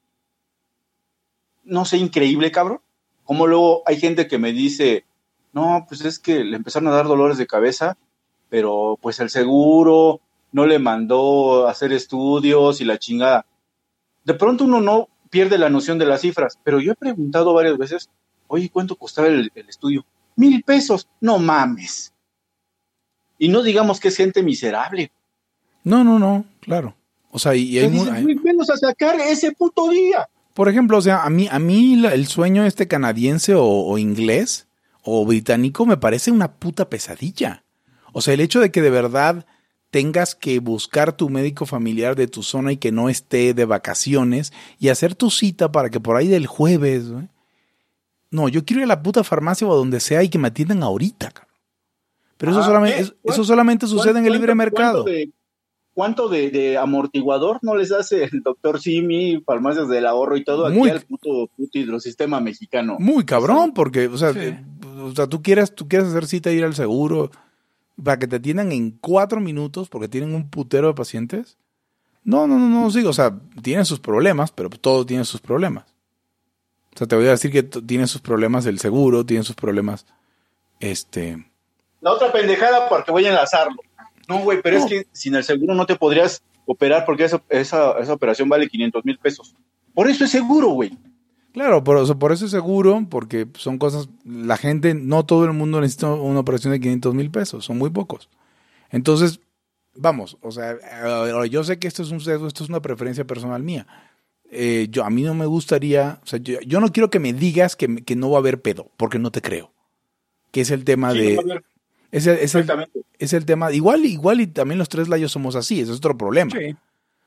no sé, increíble, cabrón. Como luego hay gente que me dice, no, pues es que le empezaron a dar dolores de cabeza, pero pues el seguro no le mandó a hacer estudios y la chingada. De pronto uno no pierde la noción de las cifras, pero yo he preguntado varias veces, oye, ¿cuánto costaba el, el estudio? Mil pesos, no mames. Y no digamos que es gente miserable. No, no, no, claro. O sea, y, y hay, O sea, mu- dices, hay- "Güey, venos a sacar ese puto día". por ejemplo, o sea, a mí, a mí la- el sueño este canadiense o, o inglés o británico me parece una puta pesadilla. O sea, el hecho de que de verdad tengas que buscar tu médico familiar de tu zona y que no esté de vacaciones y hacer tu cita para que por ahí del jueves, güey. No, yo quiero ir a la puta farmacia o a donde sea y que me atiendan ahorita, cabrón. Pero eso Ah, solamente, ¿eh? es- eso solamente sucede en el libre mercado. ¿Cuánto de, cuánto de, de amortiguador no les hace el doctor Simi, farmacias del ahorro y todo aquí Muy- al puto, puto hidrosistema mexicano? Muy cabrón, porque, o sea, Sí. eh, o sea, tú quieres, tú quieres hacer cita e ir al seguro para que te atiendan en cuatro minutos porque tienen un putero de pacientes. No, no, no, no, sí, o sea, tienen sus problemas, pero todo tiene sus problemas. O sea, te voy a decir que t- tiene sus problemas el seguro, tiene sus problemas, este... La otra pendejada porque voy a enlazarlo. No, güey, pero No. es que sin el seguro no te podrías operar porque esa, esa, esa operación vale quinientos mil pesos. Por eso es seguro, güey. Claro, por, o sea, por eso es seguro, porque son cosas, la gente, no todo el mundo necesita una operación de quinientos mil pesos, son muy pocos. Entonces, vamos, o sea, ahora yo sé que esto es un sesgo, esto es una preferencia personal mía. Eh, yo, a mí no me gustaría, o sea, yo, yo no quiero que me digas que, que no va a haber pedo, porque no te creo. Que es el tema Sí, de... no va a haber- Es el, es, el, Exactamente. es el tema, igual, igual y también los tres layos somos así, ese es otro problema. Sí.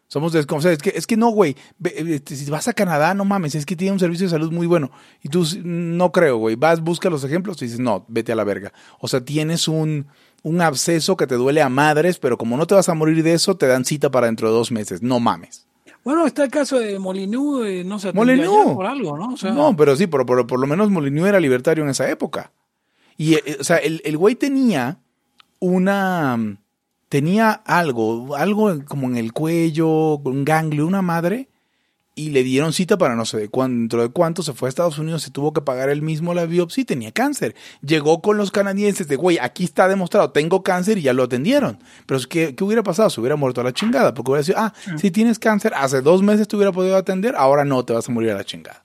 Somos desconfiados. Es que, es que no, güey. Si vas a Canadá, no mames, es que tiene un servicio de salud muy bueno. Y tú, no creo, güey. Vas, busca los ejemplos y dices, no, vete a la verga. O sea, tienes un, un absceso que te duele a madres, pero como no te vas a morir de eso, te dan cita para dentro de dos meses. No mames. Bueno, está el caso de Molyneux, eh, no se atendió por algo, ¿no? O sea, no, pero sí, por, por, por lo menos Molyneux era libertario en esa época. Y, eh, o sea, el, el güey tenía una... Tenía algo, algo como en el cuello, un ganglio, una madre, y le dieron cita para no sé de cuánto, dentro de cuánto, se fue a Estados Unidos, se tuvo que pagar él mismo la biopsia y tenía cáncer. Llegó con los canadienses de, güey, aquí está demostrado, tengo cáncer y ya lo atendieron. Pero ¿qué, qué hubiera pasado? Se hubiera muerto a la chingada, porque hubiera sido, ah, sí. si tienes cáncer, hace dos meses te hubiera podido atender, ahora no, te vas a morir a la chingada.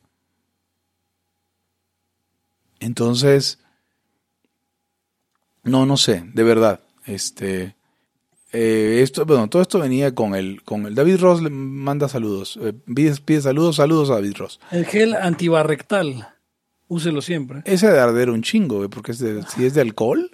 Entonces, no, no sé, de verdad, este... Eh, esto, bueno, todo esto venía con el, con el David Ross le manda saludos, eh, pide, pide saludos, saludos a David Ross. El gel antibarrectal, úselo siempre. Ese de arder un chingo, porque es de, si es de alcohol.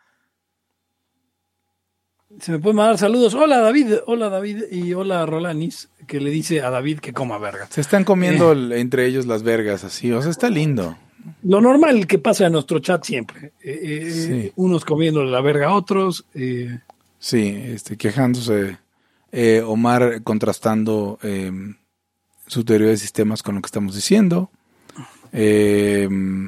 Se me puede mandar saludos. Hola David, hola David y hola Rolanis, que le dice a David que coma verga. Se están comiendo eh. entre ellos las vergas así, o sea, está lindo. Lo normal que pasa en nuestro chat siempre, eh, eh, sí. unos comiendo la verga a otros. Eh, Sí, este, quejándose, eh, Omar contrastando eh, su teoría de sistemas con lo que estamos diciendo, eh,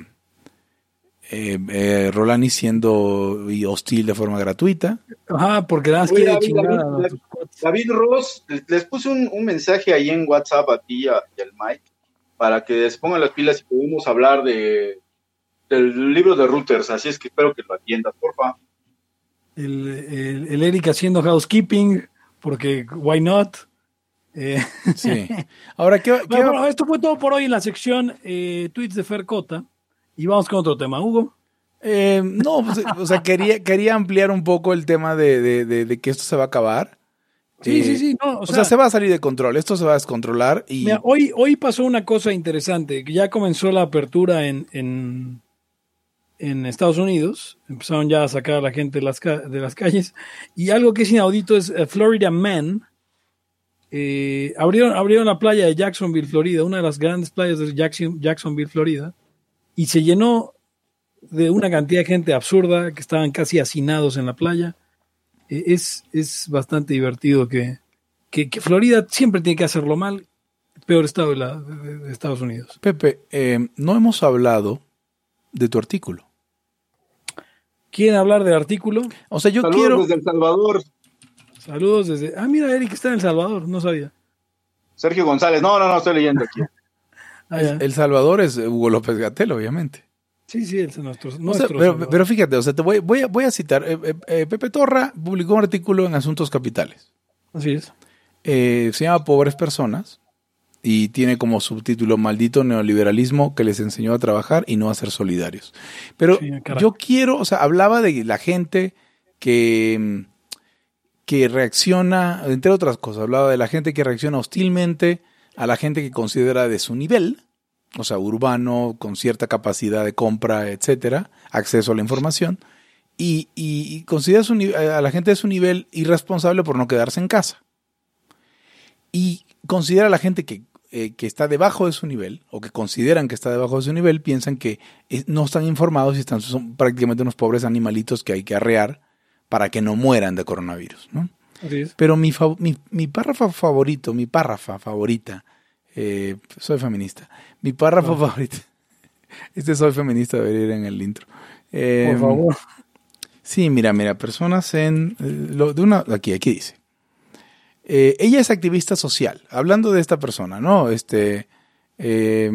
eh, eh, Rolani siendo hostil de forma gratuita. Ajá, porque nada más quiere David, chingar David, a David, David Ross, les puse un, un mensaje ahí en WhatsApp a ti y al Mike para que se pongan las pilas y podamos hablar de del libro de Reuters, así es que espero que lo atiendas, porfa. El, el, el Eric haciendo housekeeping, porque why not? Eh. Sí. Ahora, ¿qué, qué... Bueno, bueno, esto fue todo por hoy en la sección eh, tweets de Fercota. Y vamos con otro tema, Hugo. Eh, no, pues, o sea, quería, quería ampliar un poco el tema de, de, de, de que esto se va a acabar. Sí, eh, sí, sí. No, o, o sea, sea, se va a salir de control, esto se va a descontrolar. Y... Mira, hoy, hoy pasó una cosa interesante, que ya comenzó la apertura en... en en Estados Unidos, empezaron ya a sacar a la gente de las, de las calles, y algo que es inaudito es uh, Florida Man, eh, abrieron, abrieron la playa de Jacksonville, Florida, una de las grandes playas de Jackson, Jacksonville, Florida, y se llenó de una cantidad de gente absurda, que estaban casi hacinados en la playa. Eh, es, es bastante divertido que, que, que Florida siempre tiene que hacerlo mal, peor estado de, la, de, de Estados Unidos. Pepe, eh, no hemos hablado de tu artículo. ¿Quieren hablar del artículo? O sea, yo Saludos quiero... desde El Salvador. Saludos desde... Ah, mira, Eric está en El Salvador, no sabía. Sergio González. No, no, no, estoy leyendo aquí. Ah, El Salvador es Hugo López Gatell, obviamente. Sí, sí, es nuestro, o nuestro sea, pero, pero fíjate, o sea, te voy, voy, a, voy a citar. Eh, eh, Pepe Torra publicó un artículo en Asuntos Capitales. Así es. Eh, se llama Pobres Personas y tiene como subtítulo Maldito neoliberalismo que les enseñó a trabajar y no a ser solidarios. Pero sí, yo quiero, o sea, hablaba de la gente que, que reacciona, entre otras cosas, hablaba de la gente que reacciona hostilmente a la gente que considera de su nivel, o sea, urbano, con cierta capacidad de compra, etcétera, acceso a la información, y, y, y considera su, a la gente de su nivel irresponsable por no quedarse en casa. Y considera a la gente que Eh, que está debajo de su nivel, o que consideran que está debajo de su nivel, piensan que es, no están informados y están, son prácticamente unos pobres animalitos que hay que arrear para que no mueran de coronavirus, ¿no? Así es. Pero mi, mi, mi párrafo favorito, mi párrafa favorita, eh, soy feminista, mi párrafo oh. favorito, este soy feminista debería ir en el intro. Eh, Por favor. Sí, mira, mira, personas en, eh, lo, de una, aquí, aquí dice. Eh, ella es activista social, hablando de esta persona, ¿no? Este, eh,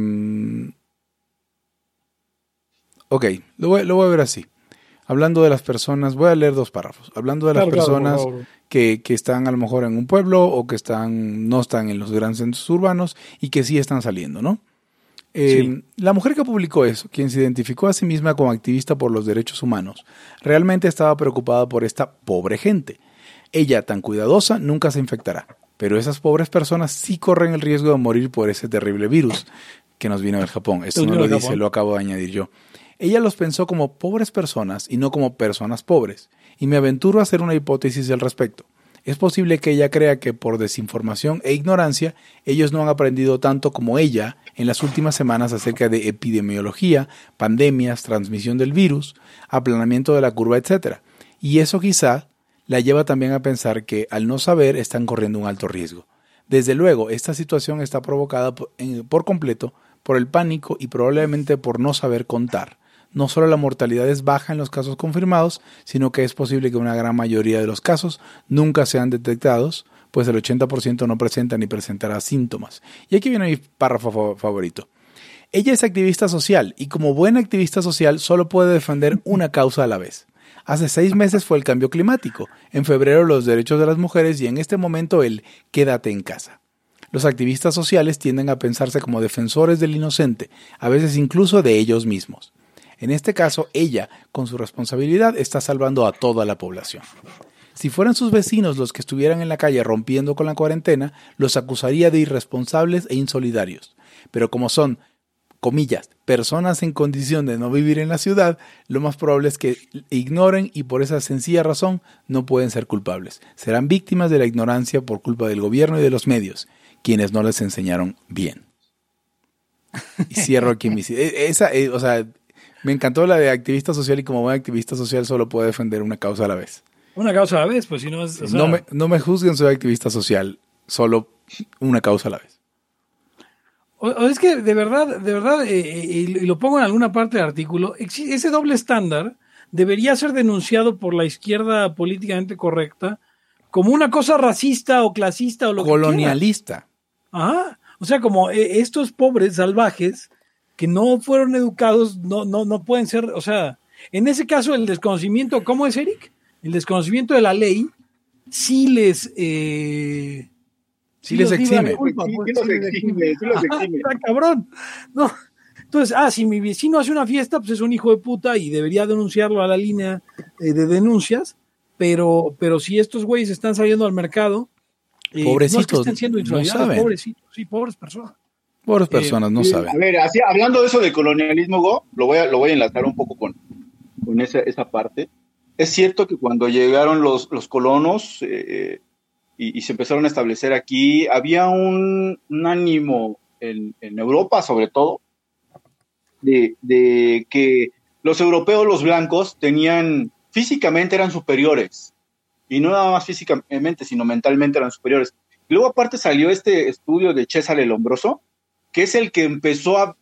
ok, lo voy, lo voy a ver así. Hablando de las personas, voy a leer dos párrafos. Hablando de las claro, personas claro, que, que están a lo mejor en un pueblo o que están no están en los grandes centros urbanos y que sí están saliendo, ¿no? Eh, sí. La mujer que publicó eso, quien se identificó a sí misma como activista por los derechos humanos, realmente estaba preocupada por esta pobre gente. Ella, tan cuidadosa, nunca se infectará, pero esas pobres personas sí corren el riesgo de morir por ese terrible virus que nos vino del Japón. Esto no lo dice, lo acabo de añadir yo. Ella los pensó como pobres personas y no como personas pobres, y me aventuro a hacer una hipótesis al respecto. Es posible que ella crea que por desinformación e ignorancia ellos no han aprendido tanto como ella en las últimas semanas acerca de epidemiología, pandemias, transmisión del virus, aplanamiento de la curva, etcétera. Y eso quizá la lleva también a pensar que al no saber están corriendo un alto riesgo. Desde luego, esta situación está provocada por, en, por completo por el pánico y probablemente por no saber contar. No solo la mortalidad es baja en los casos confirmados, sino que es posible que una gran mayoría de los casos nunca sean detectados, pues el ochenta por ciento no presenta ni presentará síntomas. Y aquí viene mi párrafo favorito. Ella es activista social y como buena activista social solo puede defender una causa a la vez. Hace seis meses fue el cambio climático, en febrero los derechos de las mujeres y en este momento el quédate en casa. Los activistas sociales tienden a pensarse como defensores del inocente, a veces incluso de ellos mismos. En este caso, ella, con su responsabilidad, está salvando a toda la población. Si fueran sus vecinos los que estuvieran en la calle rompiendo con la cuarentena, los acusaría de irresponsables e insolidarios. Pero como son, comillas, personas en condición de no vivir en la ciudad, lo más probable es que ignoren y por esa sencilla razón no pueden ser culpables. Serán víctimas de la ignorancia por culpa del gobierno y de los medios, quienes no les enseñaron bien. Y cierro aquí mi... Esa, eh, o sea... Me encantó la de activista social y como buen activista social solo puede defender una causa a la vez. Una causa a la vez, pues si no es... O sea... no, me, no me juzguen, soy activista social, solo una causa a la vez. O, o es que de verdad, de verdad, eh, eh, y lo pongo en alguna parte del artículo, ese doble estándar debería ser denunciado por la izquierda políticamente correcta como una cosa racista o clasista o lo colonialista. Que quiera. Ajá. O sea, como eh, estos pobres salvajes que no fueron educados, no, no, no pueden ser, o sea, en ese caso el desconocimiento, ¿cómo es, Eric? El desconocimiento de la ley sí les eh, sí, sí les exime. Culpa, sí, pues, sí, sí, los exime, sí los exime. Está cabrón. No. Entonces, ah, si mi vecino hace una fiesta, pues es un hijo de puta y debería denunciarlo a la línea eh, de denuncias, pero, pero si estos güeyes están saliendo al mercado, eh, pobrecitos, no es que estén siendo insolidarios, no pobrecitos, sí, pobres personas. Pobres personas, eh, no eh, saben. A ver, así, hablando de eso del colonialismo, Go, lo voy a, lo voy a enlazar un poco con, con esa, esa parte. Es cierto que cuando llegaron los, los colonos eh, y, y se empezaron a establecer aquí, había un, un ánimo en, en Europa, sobre todo, de, de que los europeos, los blancos, tenían, físicamente eran superiores. Y no nada más físicamente, sino mentalmente eran superiores. Y luego aparte salió este estudio de César el Hombroso, que es el que empezó a,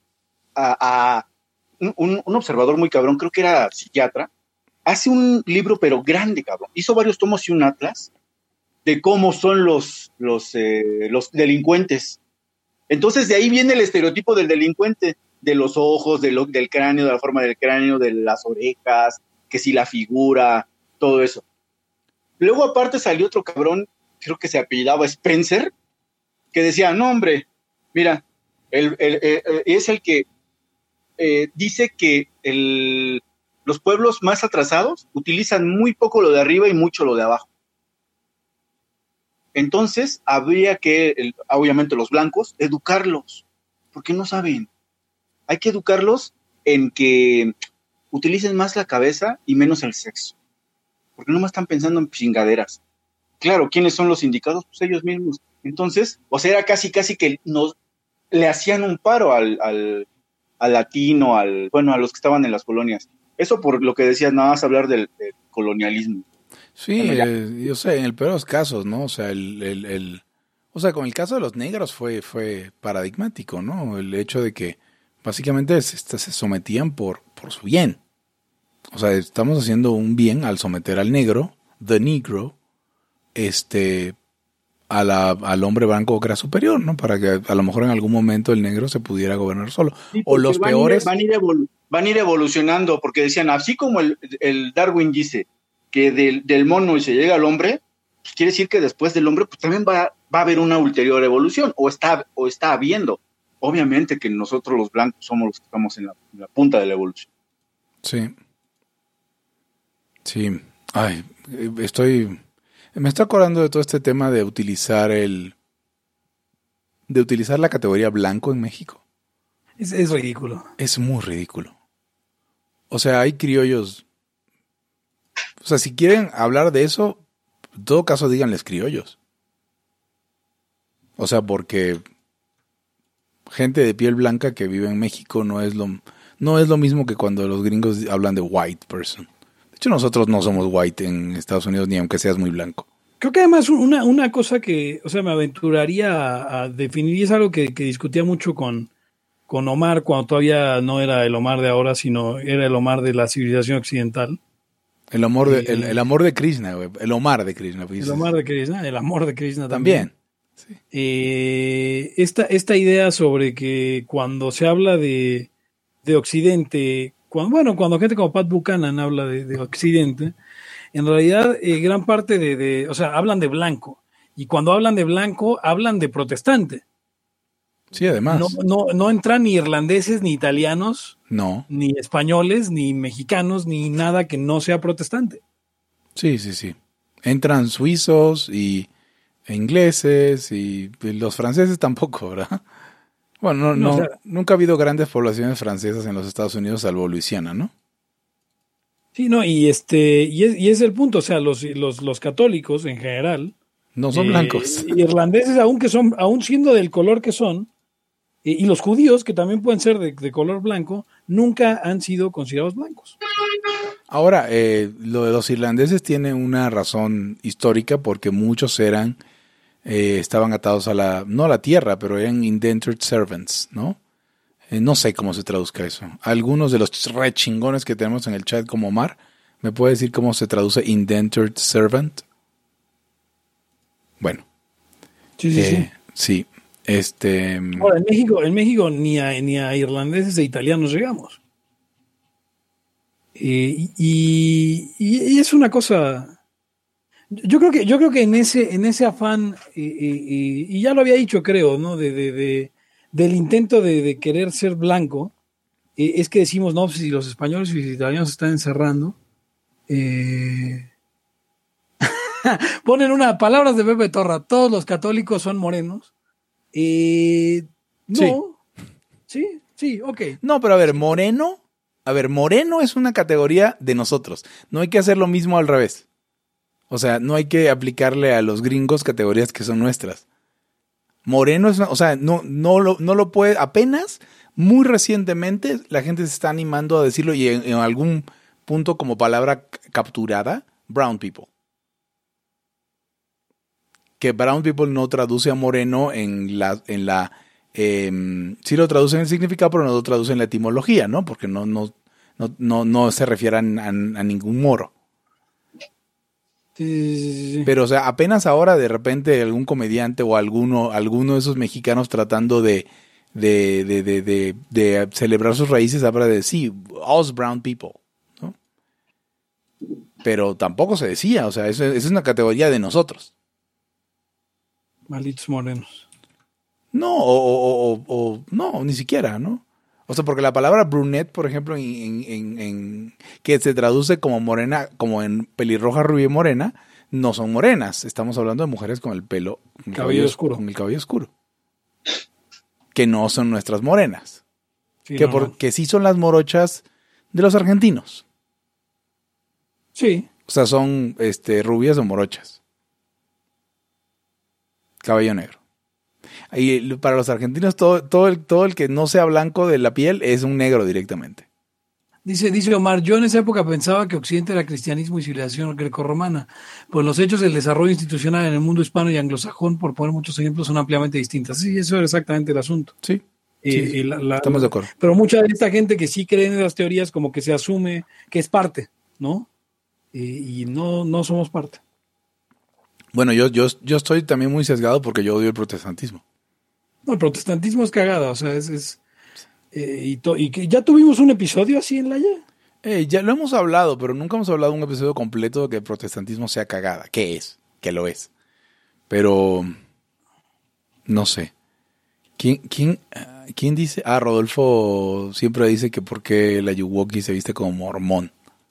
a, a un, un observador muy cabrón, creo que era psiquiatra, hace un libro pero grande, cabrón, hizo varios tomos y un atlas de cómo son los, los, eh, los delincuentes. Entonces de ahí viene el estereotipo del delincuente, de los ojos, de lo, del cráneo, de la forma del cráneo, de las orejas, que si la figura, todo eso. Luego aparte salió otro cabrón, creo que se apellidaba Spencer, que decía, no hombre, mira, El, el, el, es el que eh, dice que el, los pueblos más atrasados utilizan muy poco lo de arriba y mucho lo de abajo. Entonces, habría que, el, obviamente los blancos, educarlos, porque no saben. Hay que educarlos en que utilicen más la cabeza y menos el sexo, porque no más están pensando en chingaderas. Claro, ¿quiénes son los indicados? Pues ellos mismos. Entonces, o sea, era casi, casi que nos le hacían un paro al, al, al latino, al, bueno, a los que estaban en las colonias. Eso por lo que decías, nada más hablar del, del colonialismo. Sí, bueno, eh, yo sé, en el peor de los casos, ¿no? O sea, el, el, el, o sea, con el caso de los negros fue, fue paradigmático, ¿no? El hecho de que básicamente se, se sometían por, por su bien. O sea, estamos haciendo un bien al someter al negro, the negro, este... A la, al hombre blanco que era superior, ¿no? Para que a lo mejor en algún momento el negro se pudiera gobernar solo. Sí, o los van peores... A ir, van, a ir evolu- van a ir evolucionando, porque decían, así como el, el Darwin dice que del, del mono y se llega al hombre, pues quiere decir que después del hombre pues también va, va a haber una ulterior evolución, o está, o está habiendo. Obviamente que nosotros los blancos somos los que estamos en la, en la punta de la evolución. Sí. Sí. Ay, estoy... Me estoy acordando de todo este tema de utilizar el... de utilizar la categoría blanco en México. Es, es ridículo. Es muy ridículo. O sea, hay criollos... O sea, si quieren hablar de eso, En todo caso, díganles criollos. O sea, porque gente de piel blanca que vive en México no es lo, no es lo mismo que cuando los gringos hablan de white person. De hecho, nosotros no somos white en Estados Unidos, ni aunque seas muy blanco. Creo que además una, una cosa que, o sea, me aventuraría a, a definir, y es algo que, que discutía mucho con, con Omar, cuando todavía no era el Omar de ahora, sino era el Omar de la civilización occidental. El amor de, Eh, el, el amor de Krishna, güey. El Omar de Krishna. Pues, El Omar de Krishna, el amor de Krishna también. también. Sí. Eh, esta, esta idea sobre que cuando se habla de, de Occidente, cuando, bueno, cuando gente como Pat Buchanan habla de, de Occidente, en realidad eh, gran parte de, de, o sea, hablan de blanco, y cuando hablan de blanco, hablan de protestante. Sí, además. No, no, no entran ni irlandeses, ni italianos, No. ni españoles, ni mexicanos, ni nada que no sea protestante. Sí, sí, sí. Entran suizos y e ingleses y, y los franceses tampoco, ¿verdad? Bueno, no, No, no, o sea, nunca ha habido grandes poblaciones francesas en los Estados Unidos, salvo Luisiana, ¿no? sí, no, y este, y es, y es el punto, o sea, los, los, los católicos en general, No son eh, blancos. irlandeses, aún que son, aún siendo del color que son, eh, y los judíos, que también pueden ser de, de color blanco, nunca han sido considerados blancos. Ahora, eh, lo de los irlandeses tiene una razón histórica porque muchos eran, eh, estaban atados a la, no a la tierra, pero eran indentured servants, ¿no? Eh, no sé cómo se traduzca eso. Algunos de los re chingones que tenemos en el chat como Omar, ¿me puede decir cómo se traduce indentured servant? Bueno. Sí, sí, eh, sí. Sí. Este, Ahora, en México, en México ni a, ni a irlandeses e italianos llegamos. Eh, y, y, y es una cosa. Yo creo que, yo creo que en ese, en ese afán, eh, eh, y ya lo había dicho, creo, ¿no? De, de, de, del intento de, de querer ser blanco, eh, es que decimos, no, si los españoles y los italianos se están encerrando. Eh... Ponen una palabras de Pepe Torra, todos los católicos son morenos. Eh, no, sí, sí, sí, ok. no, pero a ver, moreno, a ver, moreno es una categoría de nosotros. No hay que hacer lo mismo al revés. O sea, no hay que aplicarle a los gringos categorías que son nuestras. Moreno es, una, o sea, no, no lo, no lo puede, apenas, muy recientemente, la gente se está animando a decirlo y en, en algún punto como palabra capturada, brown people. Que brown people no traduce a moreno en la, en la, eh, sí lo traduce en el significado, pero no lo traduce en la etimología, ¿no? Porque no, no, no, no, no se refiere a, a, a ningún moro. Sí, sí, sí, sí. Pero, o sea, apenas ahora de repente algún comediante o alguno, alguno de esos mexicanos tratando de, de, de, de, de, de celebrar sus raíces habla de, sí, us brown people, ¿no? Pero tampoco se decía, o sea, eso, eso es una categoría de nosotros. Malditos morenos. No, o, o, o, o no, ni siquiera, ¿no? O sea, porque la palabra brunette, por ejemplo, en, en, en, que se traduce como morena, como en pelirroja, rubia y morena, no son morenas. Estamos hablando de mujeres con el pelo, con el Cabello cabello oscuro. con el cabello oscuro. Que no son nuestras morenas. Sí, que, no, por, no. que sí son las morochas de los argentinos. Sí, O sea, son este, rubias o morochas. Cabello negro. Y para los argentinos, todo, todo, el, todo el que no sea blanco de la piel es un negro directamente. dice, dice Omar, yo en esa época pensaba que Occidente era cristianismo y civilización grecorromana, pues los hechos del desarrollo institucional en el mundo hispano y anglosajón, por poner muchos ejemplos, son ampliamente distintas. Sí, eso era exactamente el asunto. Sí, Eh, sí, eh, la- la- estamos de acuerdo. Pero mucha de esta gente que sí cree en las teorías como que se asume que es parte, ¿no? Eh, y no, no somos parte. Bueno, yo, yo, yo estoy también muy sesgado porque yo odio el protestantismo. No, el protestantismo es cagada, o sea, es... es eh, y, to- y que ya tuvimos un episodio así en la ya. Eh, ya lo hemos hablado, pero nunca hemos hablado de un episodio completo de que el protestantismo sea cagada. ¿Qué es? Que lo es. Pero no sé. ¿Quién, quién, ah, quién dice? Ah, Rodolfo siempre dice que por qué la Yuwoki se viste como mormón.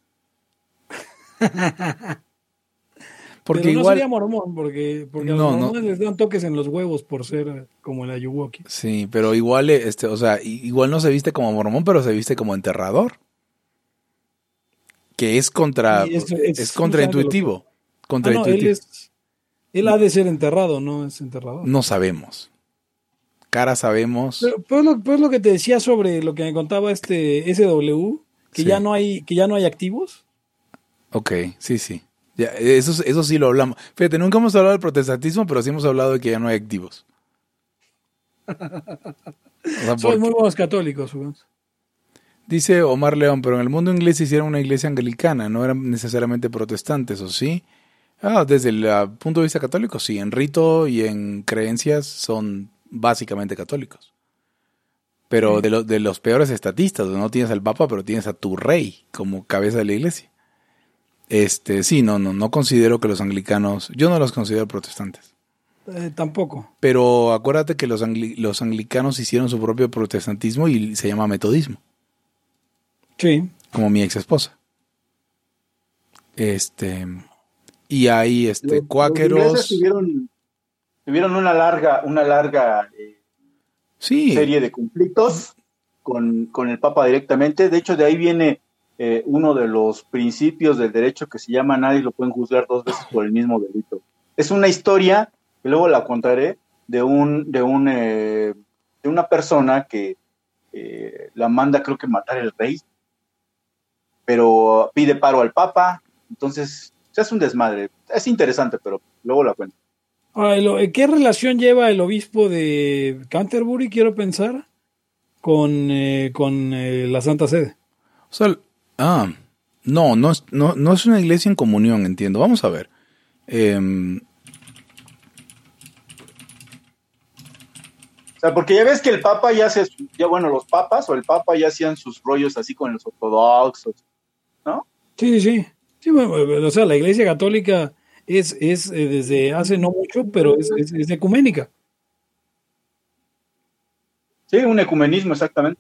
Porque Pero no igual, sería mormón, porque, porque a No, los no. mormones les dan toques en los huevos por ser eh, como el Ayuwoki. sí, pero igual, este, o sea, i- igual no se viste como mormón, pero se viste como enterrador. Que es contra, Y es- es, es contraintuitivo. Contra Ah, no, él, es, él ha de ser enterrado, ¿no? Es enterrado. No sabemos. Cara sabemos. Pero, pues, lo, pues lo que te decía sobre lo que me contaba este S W, que Sí. ya no hay, que ya no hay activos. Ok, sí, sí. Ya, eso, eso sí lo hablamos. Fíjate, nunca hemos hablado del protestantismo, pero sí hemos hablado de que ya no hay activos. O sea, Son porque- muy buenos católicos, Hugo. Dice Omar León, pero en el mundo inglés hicieron una iglesia anglicana, no eran necesariamente protestantes, ¿o sí? Ah, desde el uh, punto de vista católico, sí. En rito y en creencias son básicamente católicos. Pero Sí. de, lo- de los peores estatistas, no tienes al Papa, pero tienes a tu rey como cabeza de la iglesia. Este, sí, no, no, no considero que los anglicanos, yo no los considero protestantes. Eh, tampoco. Pero acuérdate que los, angli- los anglicanos hicieron su propio protestantismo y se llama metodismo, Sí. como mi ex esposa. Este, y hay este, Los- cuáqueros. Los ingleses tuvieron, tuvieron una larga, una larga eh, Sí, serie de conflictos con, con el Papa directamente. De hecho, de ahí viene eh, uno de los principios del derecho que se llama nadie lo pueden juzgar dos veces por el mismo delito. Es una historia, que luego la contaré, de un, de un eh, de una persona que eh, la manda, creo que matar el rey, pero pide paro al Papa. Entonces, se hace un desmadre. Es interesante, pero luego la cuento. Ahora, el- eh, ¿qué relación lleva el obispo de Canterbury, quiero pensar, con, eh, con eh, la Santa Sede? o sea, ah, no, no es, no, no es una iglesia en comunión, entiendo. Vamos a ver. Em, O sea, porque ya ves que el Papa ya hace, ya bueno, los papas o el Papa ya hacían sus rollos así con los ortodoxos, ¿no? Sí, sí, sí. Sí, bueno, o sea, la Iglesia Católica es, es eh, desde hace no mucho, pero es, es, es ecuménica. Sí, un ecumenismo, exactamente.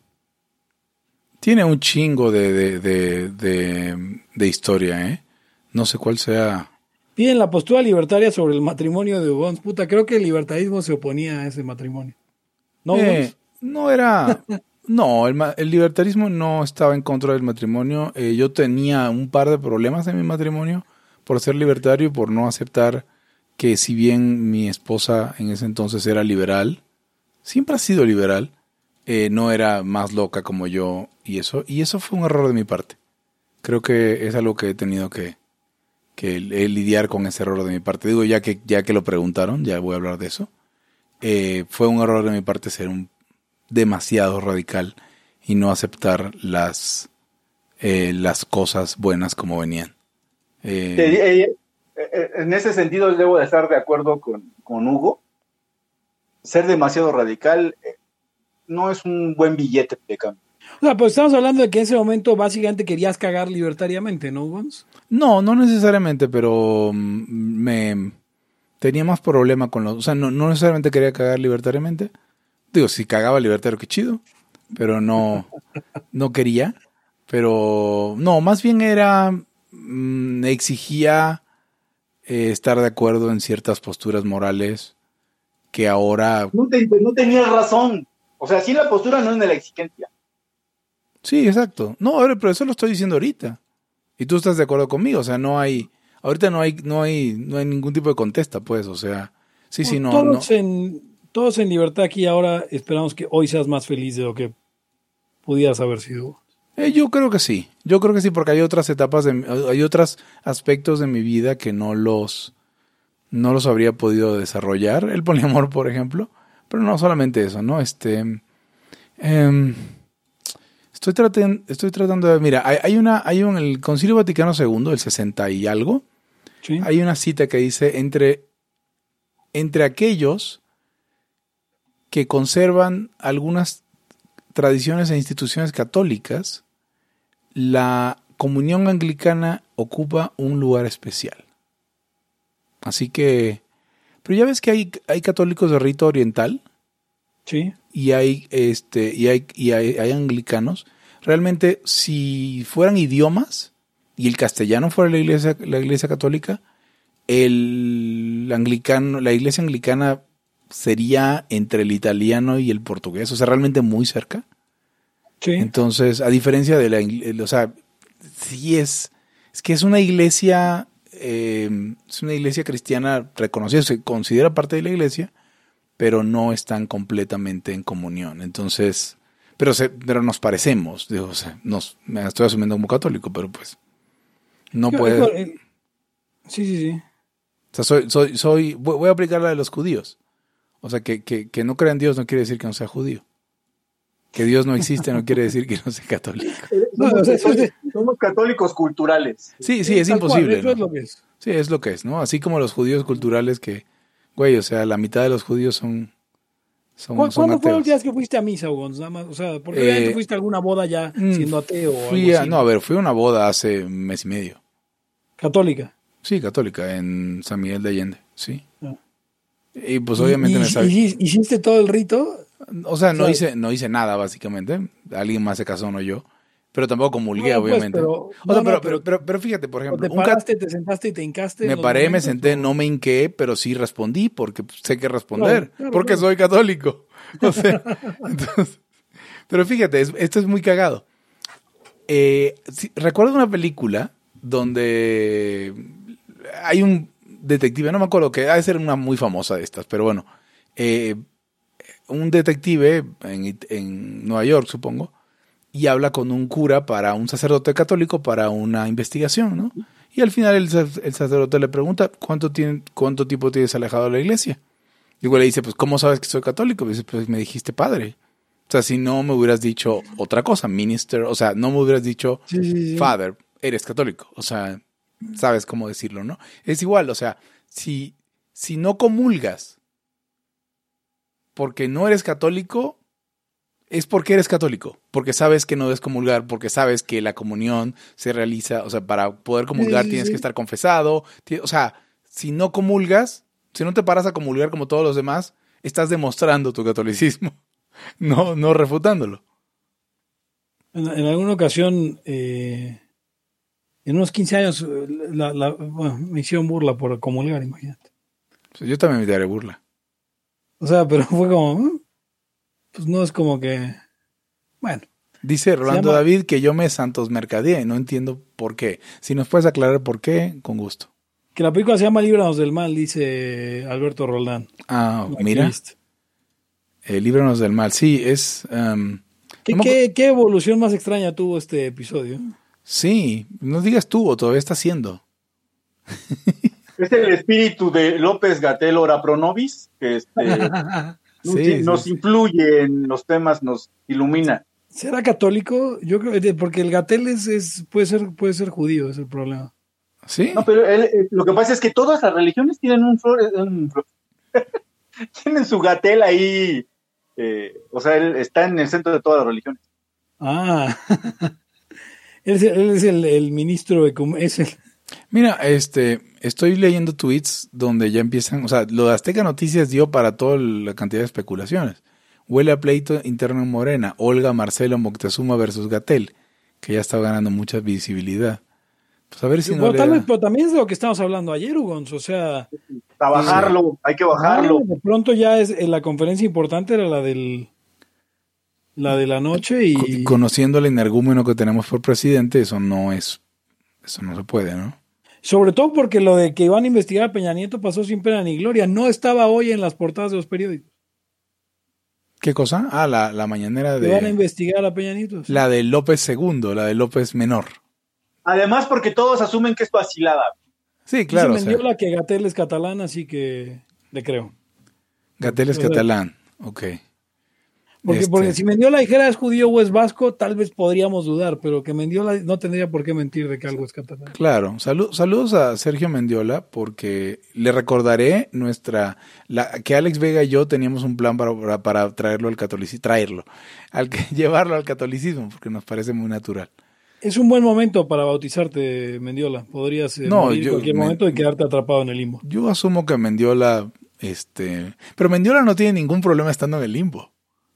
tiene un chingo de, de, de, de, de historia, ¿eh? No sé cuál sea. Piden la postura libertaria sobre el matrimonio de Ubons. Puta, creo que el libertarismo se oponía a ese matrimonio. ¿No, Eh, Ubons? no era. No, el, ma- el libertarismo no estaba en contra del matrimonio. Eh, yo tenía un par de problemas en mi matrimonio por ser libertario y por no aceptar que, si bien mi esposa en ese entonces era liberal, siempre ha sido liberal, eh, no era más loca como yo y eso. Y eso fue un error de mi parte. Creo que es algo que he tenido que, que eh, lidiar con ese error de mi parte. Digo, ya que, ya que lo preguntaron, ya voy a hablar de eso. Eh, fue un error de mi parte ser un demasiado radical y no aceptar las eh, las cosas buenas como venían. Eh, Eh, eh, eh, en ese sentido debo de estar de acuerdo con, con Hugo. Ser demasiado radical eh, no es un buen billete de cambio. O sea, pues estamos hablando de que en ese momento básicamente querías cagar libertariamente, ¿no, Ubons? no, no necesariamente, pero mm, me tenía más problema con los... O sea, no, no necesariamente quería cagar libertariamente. Digo, si cagaba libertario, qué chido, pero no, no quería. Pero no, más bien era... mm, exigía eh, estar de acuerdo en ciertas posturas morales que ahora... No, te, no tenías razón. O sea, sí, la postura no es de la exigencia. Sí, exacto. No, ahora, pero eso lo estoy diciendo ahorita. Y tú estás de acuerdo conmigo, o sea, no hay... Ahorita no hay, no hay, no hay ningún tipo de contesta, pues, o sea... Sí, sí, no, no. todos, En, todos en libertad aquí ahora esperamos que hoy seas más feliz de lo que pudieras haber sido. Eh, yo creo que sí. Yo creo que sí, porque hay otras etapas, de, mi- hay otros aspectos de mi vida que no los, no los habría podido desarrollar. El poliamor, por ejemplo. Pero no solamente eso, ¿no? Este, em, estoy tratando, estoy tratando de, mira, hay, hay una, hay un, el Concilio Vaticano segundo, el sesenta y algo, ¿Sí? hay una cita que dice entre, entre aquellos que conservan algunas tradiciones e instituciones católicas, la comunión anglicana ocupa un lugar especial. Así que, pero ya ves que hay, hay católicos de rito oriental Sí. y hay este y hay y hay, hay anglicanos. Realmente, si fueran idiomas y el castellano fuera la iglesia la iglesia católica, el anglicano, la iglesia anglicana sería entre el italiano y el portugués, o sea, realmente muy cerca. Sí. Entonces, a diferencia de la, ingle- o sea, sí es, es que es una iglesia eh, es una iglesia cristiana reconocida, se considera parte de la iglesia, pero no están completamente en comunión. Entonces, pero se, pero nos parecemos, digo, o sea, nos, me estoy asumiendo como católico, pero pues no Yo- puede. yo- eh, Sí, sí, sí. O sea, soy, soy, soy, voy voy a aplicar la de los judíos. O sea, que, que, que no crea en Dios no quiere decir que no sea judío. Que Dios no existe no quiere decir que no sea católico. No, Somos, o sea, eso es- somos católicos culturales. Sí, sí, es tal cual, imposible. eso ¿no? es lo que es. Sí, es lo que es, ¿no? Así como los judíos culturales que, güey, o sea, la mitad de los judíos son, son, ¿Cu- son ¿Cuándo fue la ateos. última vez que fuiste a misa, Hugo? Nada más, o sea, ¿por qué Eh, obviamente fuiste a alguna boda ya Mm, siendo ateo o Fui algo a, así? no, a ver, fui a una boda hace un mes y medio. Católica. Sí, católica, en San Miguel de Allende, sí. Ah. Y pues ¿Y- obviamente y- me sabía. y- ¿Hiciste todo el rito? O sea, no o sea- hice, no hice nada, básicamente. Alguien más se casó, no yo. Pero tampoco comulgué, No, pues, obviamente. pero- o sea, no, no, pero, pero- pero, pero, pero fíjate, por ¿O ejemplo, te un cat- paraste, te sentaste y te hincaste? en me los paré, me momentos, senté, o- no me hinqué, pero sí respondí porque sé que responder, Claro, claro, porque claro. soy católico. O sea, entonces, pero fíjate, es- esto es muy cagado. Eh, sí, recuerdo una película donde hay un detective, no me acuerdo, que ha de ser una muy famosa de estas, pero bueno, eh, un detective en, en Nueva York, supongo, y habla con un cura para un sacerdote católico para una investigación, ¿no? Y al final el, sac- el sacerdote le pregunta, ¿cuánto, tiene, ¿cuánto tiempo tienes alejado de la iglesia? Y igual le dice, pues, ¿cómo sabes que soy católico? Y dice, pues, me dijiste padre. O sea, si no me hubieras dicho otra cosa, minister, o sea, no me hubieras dicho Sí, sí, sí. father, eres católico. O sea, sabes cómo decirlo, ¿no? Es igual, o sea, si, si no comulgas porque no eres católico, es porque eres católico, porque sabes que no debes comulgar, porque sabes que la comunión se realiza, o sea, para poder comulgar Sí, sí, tienes sí. que estar confesado, ti- o sea, si no comulgas, si no te paras a comulgar como todos los demás, estás demostrando tu catolicismo, no, no refutándolo. En, en alguna ocasión, eh, en unos quince años, eh, la, la- bueno, me hicieron burla por comulgar, imagínate. O sea, yo también me daré burla. O sea, pero fue como, ¿eh? Pues no es como que, bueno, Dice Rolando llama- David que yo me santos mercadeé, no entiendo por qué. Si nos puedes aclarar por qué, con gusto. que la película se llama Líbranos del Mal, dice Alberto Roldán. Ah, Aquí mira, está. eh, líbranos del mal. Sí, es... um, ¿Qué, no me qué- qué evolución más extraña tuvo este episodio? Sí, no digas tú, o todavía está haciendo. Es el espíritu de López Gatell Ora Pro Nobis, que este, Sí, nos, sí, nos sí. influye en los temas, nos ilumina. ¿Será católico? Yo creo que porque el Gatel es, es- puede ser puede ser judío, es el problema. ¿Sí? No, pero él, eh, lo que pasa es que todas las religiones tienen un flor, un flor- tienen su Gatel ahí, eh, o sea, él está en el centro de todas las religiones. Ah, él es, el, él es el, el ministro de com- es el, Mira, este, estoy leyendo tweets donde ya empiezan, o sea, lo de Azteca Noticias dio para toda la cantidad de especulaciones. Huele a pleito interno en Morena, Olga Marcelo Moctezuma versus Gatell, que ya está ganando mucha visibilidad. Pues a ver si no pero, le tal da- vez- pero también es de lo que estábamos hablando ayer, Ugons, o sea, A bajarlo, hay que bajarlo. ah, de pronto ya es eh, la conferencia importante era la del la de la noche Co- y conociendo el energúmeno que tenemos por presidente, eso no es, eso no se puede, ¿no? sobre todo porque lo de que iban a investigar a Peña Nieto pasó sin pena ni gloria, no estaba hoy en las portadas de los periódicos. ¿Qué cosa? Ah, la, la mañanera Que van a de investigar a Peña Nieto. sí. la de López segundo, la de López menor. Además, porque todos asumen que es vacilada. Sí, claro. Dice O sea, Mendiola que Gatell es catalán, así que le creo. Gatell es O sea, catalán. Ok. Porque, Este- porque si Mendiola dijera es judío o es vasco, tal vez podríamos dudar, pero que Mendiola no tendría por qué mentir de que algo es catalán. Claro, Salu- saludos a Sergio Mendiola porque le recordaré nuestra la, que Alex Vega y yo teníamos un plan para, para, para traerlo al catolicismo, traerlo, al que, llevarlo al catolicismo porque nos parece muy natural. Es un buen momento para bautizarte, Mendiola. Podrías eh, No, morir yo- en cualquier me- momento y quedarte atrapado en el limbo. Yo asumo que Mendiola, este, pero Mendiola no tiene ningún problema estando en el limbo.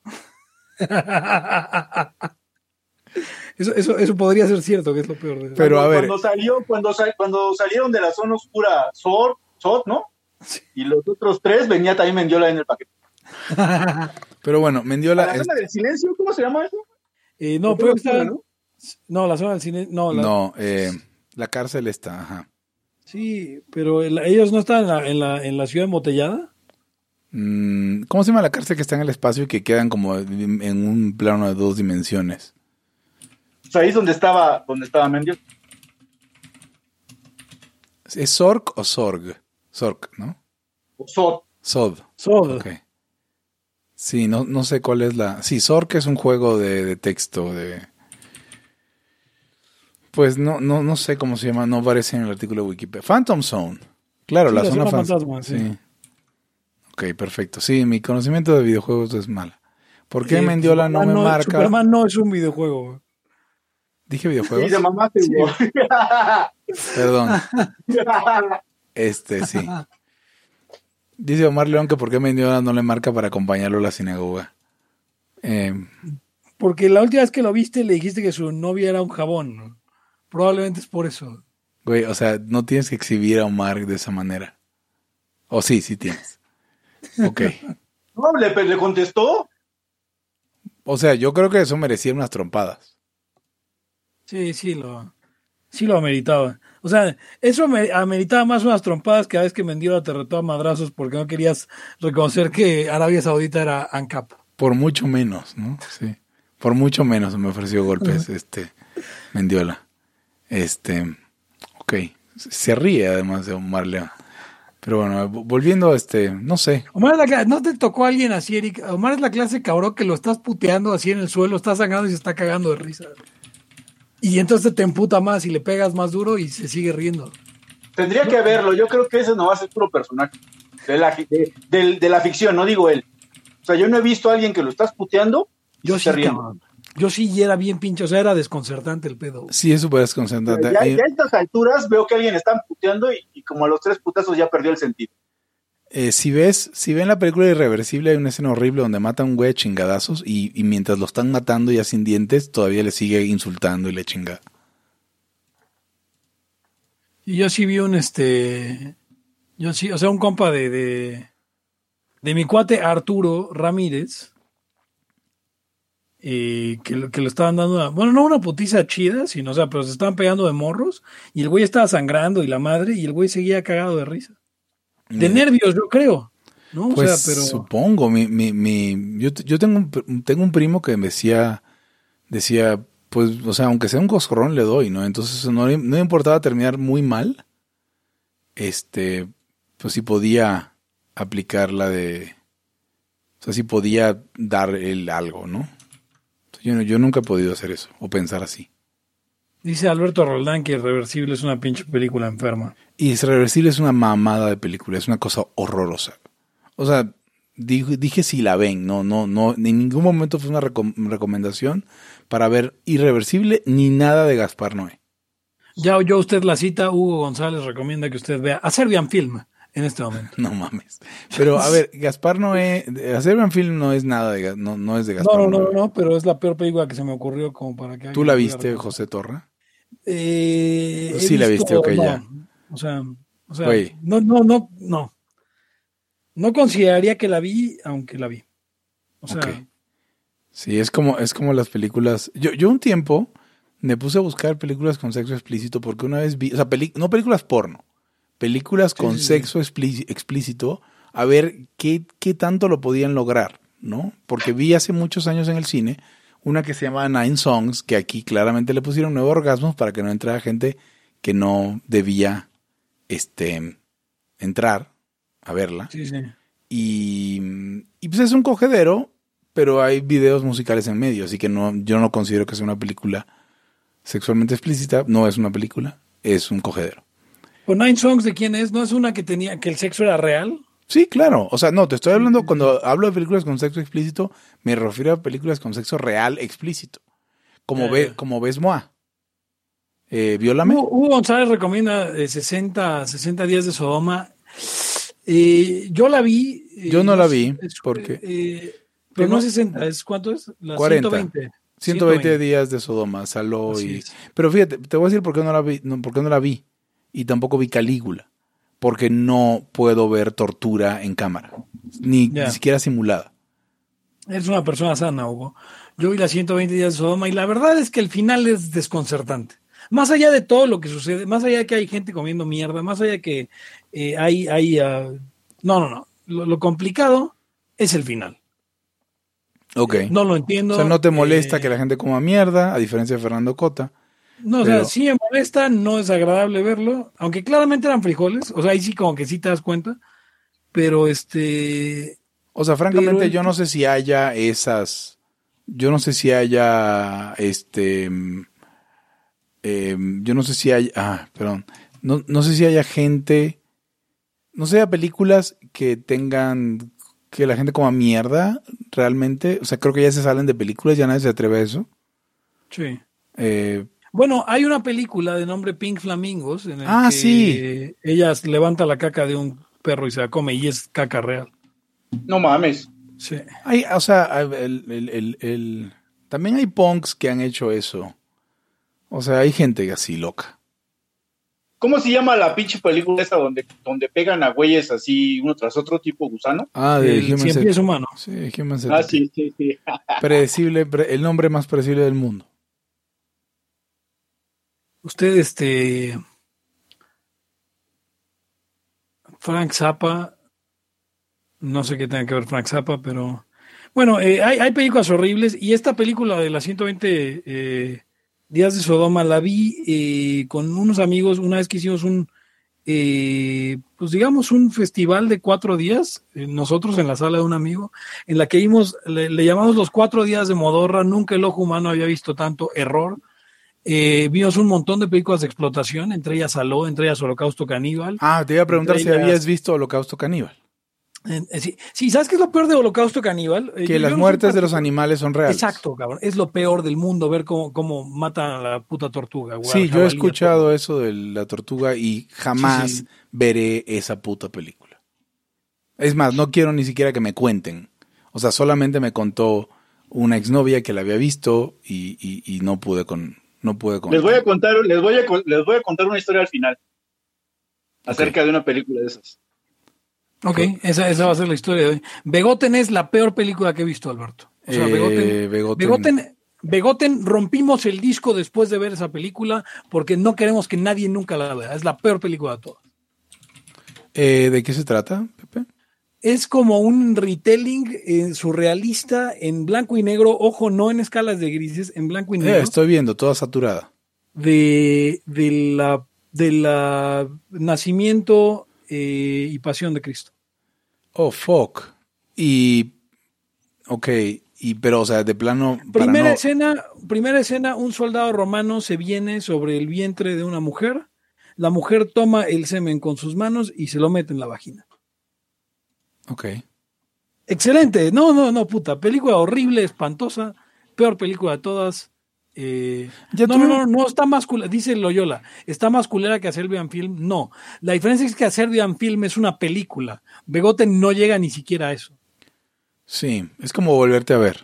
Eso, eso, eso podría ser cierto, que es lo peor. De... Pero, cuando, a ver. Cuando, salió, cuando, sal- cuando salieron de la zona oscura, Sor, Sot, ¿no? Y los otros tres venía también Mendiola en el paquete. Pero bueno, ¿A Mendiola la es- zona del silencio? ¿Cómo se llama eso? Eh, no, La pero zona oscura, está... ¿no? No, la zona del cine... No, la... no, eh, la cárcel está, ajá. Sí, pero el- ellos no están en la, en la, en la ciudad embotellada. Mm, ¿Cómo se llama la cárcel que está en el espacio y que quedan como en un plano de dos dimensiones? O sea, ahí es donde estaba, donde estaba Mendiola. ¿Es Zork o Zorg? Zork, ¿no? O Sod. Sod. Sod. Ok. Sí, no, no sé cuál es la... Sí, Zork es un juego de, de texto, de... Pues no, no, no sé cómo se llama, no aparece en el artículo de Wikipedia. Phantom Zone. Claro, Sí, la, la zona, zona fan- fantasma, sí. Ok, perfecto. Sí, mi conocimiento de videojuegos es mala. ¿Por qué Eh, Mendiola no me Superman marca? Superman no es un videojuego. ¿Dije Sí, videojuegos? de mamaste, Sí. güey. Perdón. Este, sí. Dice Omar León que por qué Mendiola no le marca para acompañarlo a la sinagoga. Eh, Porque la última vez que lo viste le dijiste que su novia era un jabón, ¿no? Probablemente es por eso. güey, o sea, no tienes que exhibir a Omar de esa manera. O sí, sí tienes. Ok. No, le, le contestó. O sea, yo creo que eso merecía unas trompadas. Sí, sí lo, sí lo ameritaba. O sea, eso me- ameritaba más unas trompadas que a veces que Mendiola te retó a madrazos porque no querías reconocer que Arabia Saudita era ANCAP. Por mucho menos, ¿no? Sí. Por mucho menos me ofreció golpes, este, Mendiola. Este, ok. Se ríe además de Omar León. Pero bueno, volviendo a este, no sé. Omar es la clase, ¿no te tocó alguien así, Eric? Omar es la clase cabrón que lo estás puteando así en el suelo, está sangrando y se está cagando de risa. Y entonces te emputa más y le pegas más duro y se sigue riendo. Tendría que verlo. Yo creo que ese no va a ser puro personaje. De la, de, de, de la ficción, no digo él. O sea, yo no he visto a alguien que lo estás puteando y Yo se sí, está riendo. cabrón. Yo sí y era bien pinche, o sea, era desconcertante el pedo. Sí, es súper desconcertante. Ya, Eh, ya a estas alturas veo que alguien está puteando y, y como a los tres putazos ya perdió el sentido. eh, si ves, si ven la película Irreversible, hay una escena horrible donde mata a un güey a chingadazos y, y mientras lo están matando ya sin dientes, todavía le sigue insultando y le chinga. Y yo sí vi un este. Yo sí, o sea, un compa de, de, de mi cuate Arturo Ramírez. eh, que, lo- que lo estaban dando. a- bueno, no una putiza chida, sino, o sea, pero se estaban pegando de morros. Y el güey estaba sangrando y la madre, y el güey seguía cagado de risa. De Eh, nervios, yo creo. ¿No? Pues o sea, pero. supongo, mi, mi, mi, yo, yo tengo, un, pr- tengo un primo que me decía, decía, pues, o sea, aunque sea un coscorrón le doy, ¿no? Entonces no, le- no le importaba terminar muy mal, este, pues sí podía aplicar la de, o sea, sí podía dar el algo, ¿no? Yo, no- yo nunca he podido hacer eso, o pensar así. Dice Alberto Roldán que Irreversible es una pinche película enferma. Y Irreversible es una mamada de película, es una cosa horrorosa. O sea, dije, dije si la ven, no, no, no, en ningún momento fue una recom- recomendación para ver Irreversible ni nada de Gaspar Noé. Ya oyó usted la cita, Hugo González recomienda que usted vea a Serbian Film en este momento. No mames. Pero a ver, Gaspar Noé, Serbian Film no es nada de, Ga- no, no es de No, Gaspar no, no, Noé. no, pero es la peor película que se me ocurrió como para que... ¿Tú alguien la pudiera viste, recomendar. José Torra? Eh, he Sí la viste, ok, no, ya. O sea, o sea Güey. no, no, no, no. No consideraría que la vi, aunque la vi. O sea, Ok. Sí, es como, es como las películas. Yo, yo un tiempo me puse a buscar películas con sexo explícito porque una vez vi, o sea, peli- no películas porno, películas con sí, sí. sexo explí- explícito, a ver qué, qué tanto lo podían lograr, ¿no? Porque vi hace muchos años en el cine una que se llama Nine Songs, que aquí claramente le pusieron nuevos orgasmos para que no entrara gente que no debía este, entrar a verla. sí, sí. Y, y pues es un cogedero, pero hay videos musicales en medio, así que no, yo no considero que sea una película sexualmente explícita, no es una película, es un cogedero. ¿Pues Nine Songs de quién es? ¿No es una que tenía, que el sexo era real? Sí, claro, o sea, no, te estoy hablando, cuando hablo de películas con sexo explícito, me refiero a películas con sexo real explícito, como, Ya, ve, ya. como ves Moa. Eh, Viólame. Hugo, Hugo González recomienda eh, sesenta, sesenta días de Sodoma. Eh, yo la vi. eh, Yo no la sé, vi, es- porque- eh, pero Tengo- no sesenta, ¿es cuánto es? La cuarenta. ciento veinte. ciento veinte días de Sodoma, Saló Así y... es. Pero fíjate, te voy a decir por qué no la vi, no, por qué no la vi. Y tampoco vi Calígula. Porque no puedo ver tortura en cámara. Ni, Ya. ni siquiera simulada. Es una persona sana, Hugo. Yo vi las ciento veinte días de Sodoma y la verdad es que el final es desconcertante. más allá de todo lo que sucede, más allá de que hay gente comiendo mierda, más allá de que eh, hay, hay uh, no, no, no, lo, lo complicado es el final. Ok. No lo entiendo. O sea, no te molesta eh, que la gente coma mierda, a diferencia de Fernando Cota. No, pero... o sea, sí me molesta, no es agradable verlo, aunque claramente eran frijoles, o sea, ahí sí como que sí te das cuenta, pero este... O sea, francamente el... yo no sé si haya esas, yo no sé si haya, este, eh, yo no sé si hay, ah, perdón, no, no sé si haya gente, no sé, haya películas que tengan, que la gente coma mierda, realmente, o sea, creo que ya se salen de películas, ya nadie se atreve a eso. Sí. Eh, Bueno, hay una película de nombre Pink Flamingos en el ah, que sí. ella levanta la caca de un perro y se la come y es caca real. No mames. Sí. Hay, o sea, el, el, el, el, también hay punks que han hecho eso. O sea, hay gente así loca. ¿Cómo se llama la pinche película esa donde, donde pegan a güeyes así uno tras otro tipo gusano? Ah, de El Human cien pies humano. Sí, Human Ah, sí, sí, sí. Predecible, pre- el nombre más predecible del mundo. Usted, este... Frank Zappa, no sé qué tenga que ver Frank Zappa, pero... Bueno, eh, hay, hay películas horribles y esta película de las ciento veinte eh, días de Sodoma la vi eh, con unos amigos una vez que hicimos un, eh, pues digamos, un festival de cuatro días, eh, nosotros en la sala de un amigo, en la que vimos, le, le llamamos los cuatro días de Modorra, nunca el ojo humano había visto tanto error. Eh, vimos un montón de películas de explotación, entre ellas Saló, entre ellas Holocausto Caníbal. Ah, te iba a preguntar si ellas, habías visto Holocausto Caníbal. Eh, sí, sí, ¿sabes qué es lo peor de Holocausto Caníbal? Eh, Que yo, las yo no muertes de los particular... animales son reales. Exacto, cabrón. Es lo peor del mundo ver cómo, cómo matan a la puta tortuga. Güey, Sí, yo he escuchado eso de la tortuga y jamás sí, sí. veré esa puta película. Es más, no quiero ni siquiera que me cuenten. O sea, solamente me contó una exnovia que la había visto y, y, y no pude con... No pude con Les voy a contar, les voy a, les voy a contar una historia al final. Acerca okay. de una película de esas. Ok, esa, esa va a ser la historia de hoy. Begoten es la peor película que he visto, Alberto. O sea, Eh, Begoten, Begoten. Begoten, Begoten, rompimos el disco después de ver esa película porque no queremos que nadie nunca la vea. Es la peor película de todas. Eh, ¿De qué se trata, Pepe? Es como un retelling eh, surrealista en blanco y negro, ojo, no en escalas de grises, en blanco y negro. Eh, estoy viendo, toda saturada. De, de la de la nacimiento eh, y pasión de Cristo. Oh, fuck. Y... Ok, y, pero, o sea, de plano... Primera para no... escena, primera escena, un soldado romano se viene sobre el vientre de una mujer, la mujer toma el semen con sus manos y se lo mete en la vagina. Ok. Excelente, no, no, no, puta, película horrible, espantosa, peor película de todas. Eh, Ya no, tuve... no, no, no está más culera, dice Loyola, está más culera que a Serbian Film. No, la diferencia es que a Serbian Film es una película. Begoten no llega ni siquiera a eso. Sí, es como volverte a ver.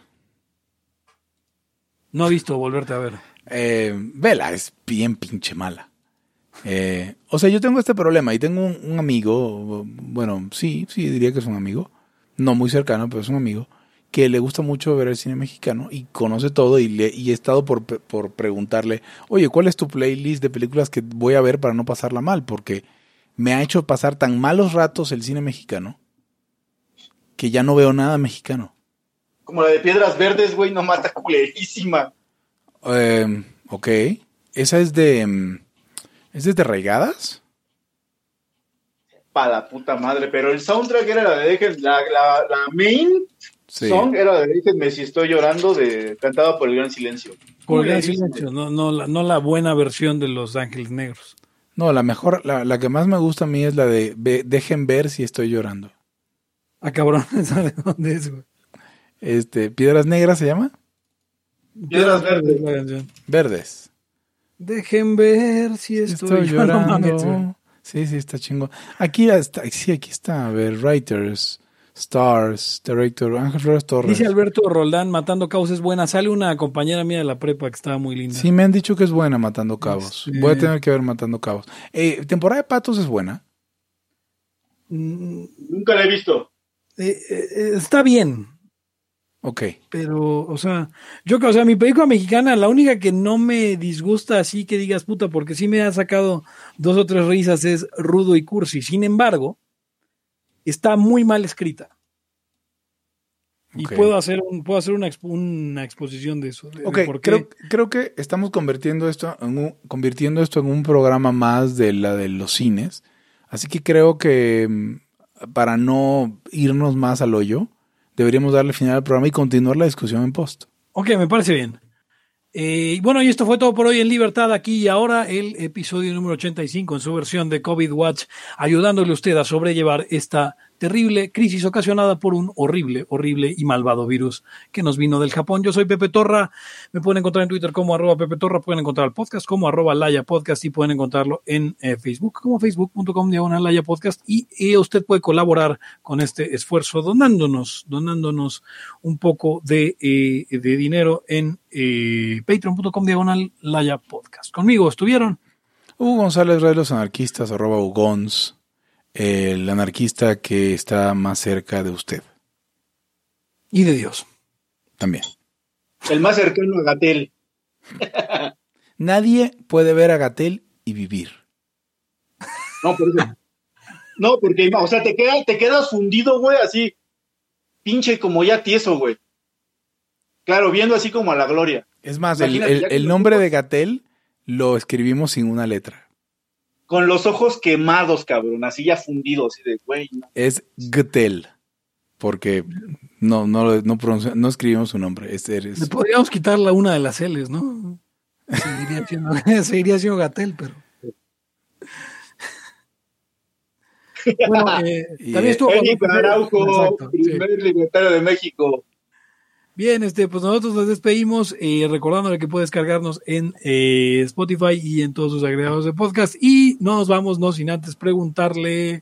No he visto volverte a ver. Eh, vela, es bien pinche mala. Eh, o sea, yo tengo este problema y tengo un, un amigo, bueno, sí, sí, diría que es un amigo, no muy cercano, pero es un amigo, que le gusta mucho ver el cine mexicano y conoce todo y, le, y he estado por, por preguntarle, oye, ¿cuál es tu playlist de películas que voy a ver para no pasarla mal? Porque me ha hecho pasar tan malos ratos el cine mexicano que ya no veo nada mexicano. Como la de Piedras Verdes, güey, no mata culerísima. Eh, ok, esa es de... ¿Es de Raigadas? Pa' la puta madre, pero el soundtrack era la de Déjenme, la, la, la main sí. song era de Déjenme si estoy llorando, de cantada por el Gran Silencio. Por el Gran Silencio, no, no, la, no la buena versión de Los Ángeles Negros. No, la mejor, la, la que más me gusta a mí es la de ve, Dejen ver si estoy llorando. Ah, cabrón, ¿de dónde es, güey? Este, ¿Piedras Negras se llama? Piedras Verdes. Verdes. Verdes. Dejen ver si estoy, estoy llorando. No mames, sí, sí, está chingón. Aquí está, sí, aquí está. A ver, writers, stars, director, Ángel Flores Torres. Dice Alberto Roldán, Matando Cabos es buena. Sale una compañera mía de la prepa que estaba muy linda. Sí, me han dicho que es buena Matando Cabos. Sí. Voy a tener que ver Matando Cabos. Eh, ¿Temporada de Patos es buena? Mm, nunca la he visto. Eh, eh, está bien. Ok. Pero, o sea, yo, o sea, mi película mexicana, la única que no me disgusta así que digas puta, porque sí me ha sacado dos o tres risas, es Rudo y Cursi. Sin embargo, está muy mal escrita. Y Okay. puedo hacer un, puedo hacer una, expo, una exposición de eso. De, ok, de por qué. creo, creo que estamos convirtiendo esto, en un, convirtiendo esto en un programa más de la de los cines. Así que creo que para no irnos más al hoyo, deberíamos darle final al programa y continuar la discusión en post. Ok, me parece bien. Eh, bueno, y esto fue todo por hoy en Libertad Aquí y Ahora, el episodio número ochenta y cinco en su versión de COVID Watch, ayudándole a usted a sobrellevar esta terrible crisis ocasionada por un horrible, horrible y malvado virus que nos vino del Japón. Yo soy Pepe Torra, me pueden encontrar en Twitter como arroba Pepe Torra, pueden encontrar el podcast como arroba Laya Podcast y pueden encontrarlo en eh, Facebook como facebook punto com diagonal Laya Podcast y eh, usted puede colaborar con este esfuerzo donándonos, donándonos un poco de, eh, de dinero en eh, patreon punto com diagonal Laya Podcast. Conmigo estuvieron Hugo González, Red de los Anarquistas, arroba Ugons, el anarquista que está más cerca de usted. Y de Dios. También. El más cercano a Gatell. Nadie puede ver a Gatell y vivir. No, por eso. No, porque, o sea, te, queda, te quedas fundido, güey, así. Pinche como ya tieso, güey. Claro, viendo así como a la gloria. Es más, el, el, el nombre de Gatell lo escribimos sin una letra. Con los ojos quemados, cabrón, así ya fundidos, así de güey. No. Es Gatell, porque no, no, no, pronuncia, no escribimos su nombre. Es, eres... Le podríamos quitar la una de las L's, ¿no? Seguiría siendo, seguiría siendo Gatell, pero... Bueno, eh, también estuvo Eric Araujo, Exacto, primer sí. libertario de México. Bien, este, pues nosotros nos despedimos eh, recordándole que puede descargarnos en eh, Spotify y en todos sus agregados de podcast y no nos vamos no sin antes preguntarle,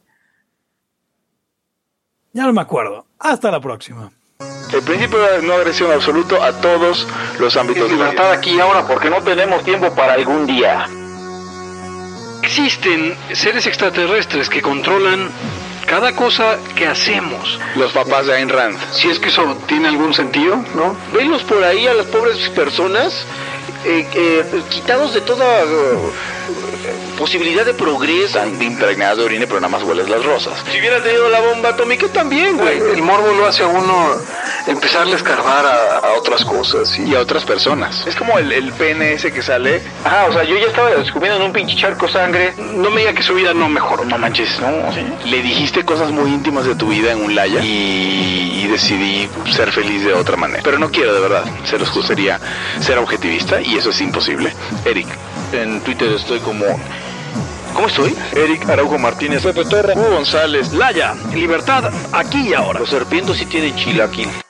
ya no me acuerdo, hasta la próxima. El principio de no agresión absoluto a todos los ámbitos de libertad aquí y ahora porque no tenemos tiempo para algún día. Existen seres extraterrestres que controlan cada cosa que hacemos. los papás de Ayn Rand. Si es que eso tiene algún sentido, ¿no? Venlos por ahí a las pobres personas eh, eh, quitados de toda uh, posibilidad de progreso. Están impregnadas de orina, pero nada más hueles las rosas. Si hubiera tenido la bomba atómica también, güey. El morbo lo hace a uno empezarle a escarbar a, a otras cosas y a otras personas. Es como el, el P N S que sale. Ajá, o sea, yo ya estaba descubriendo en un pinche charco sangre. No me diga que su vida no mejoró, no manches. No, ¿sí? Le dijiste cosas muy íntimas de tu vida en un laya y, y decidí ser feliz de otra manera. Pero no quiero, de verdad. Se los gustaría ser objetivista y eso es imposible. Eric. En Twitter estoy como... ¿Cómo estoy? Eric Araujo Martínez, Pepe Torra, Hugo González, Laya, libertad aquí y ahora. Los serpientes sí tienen chilaquil.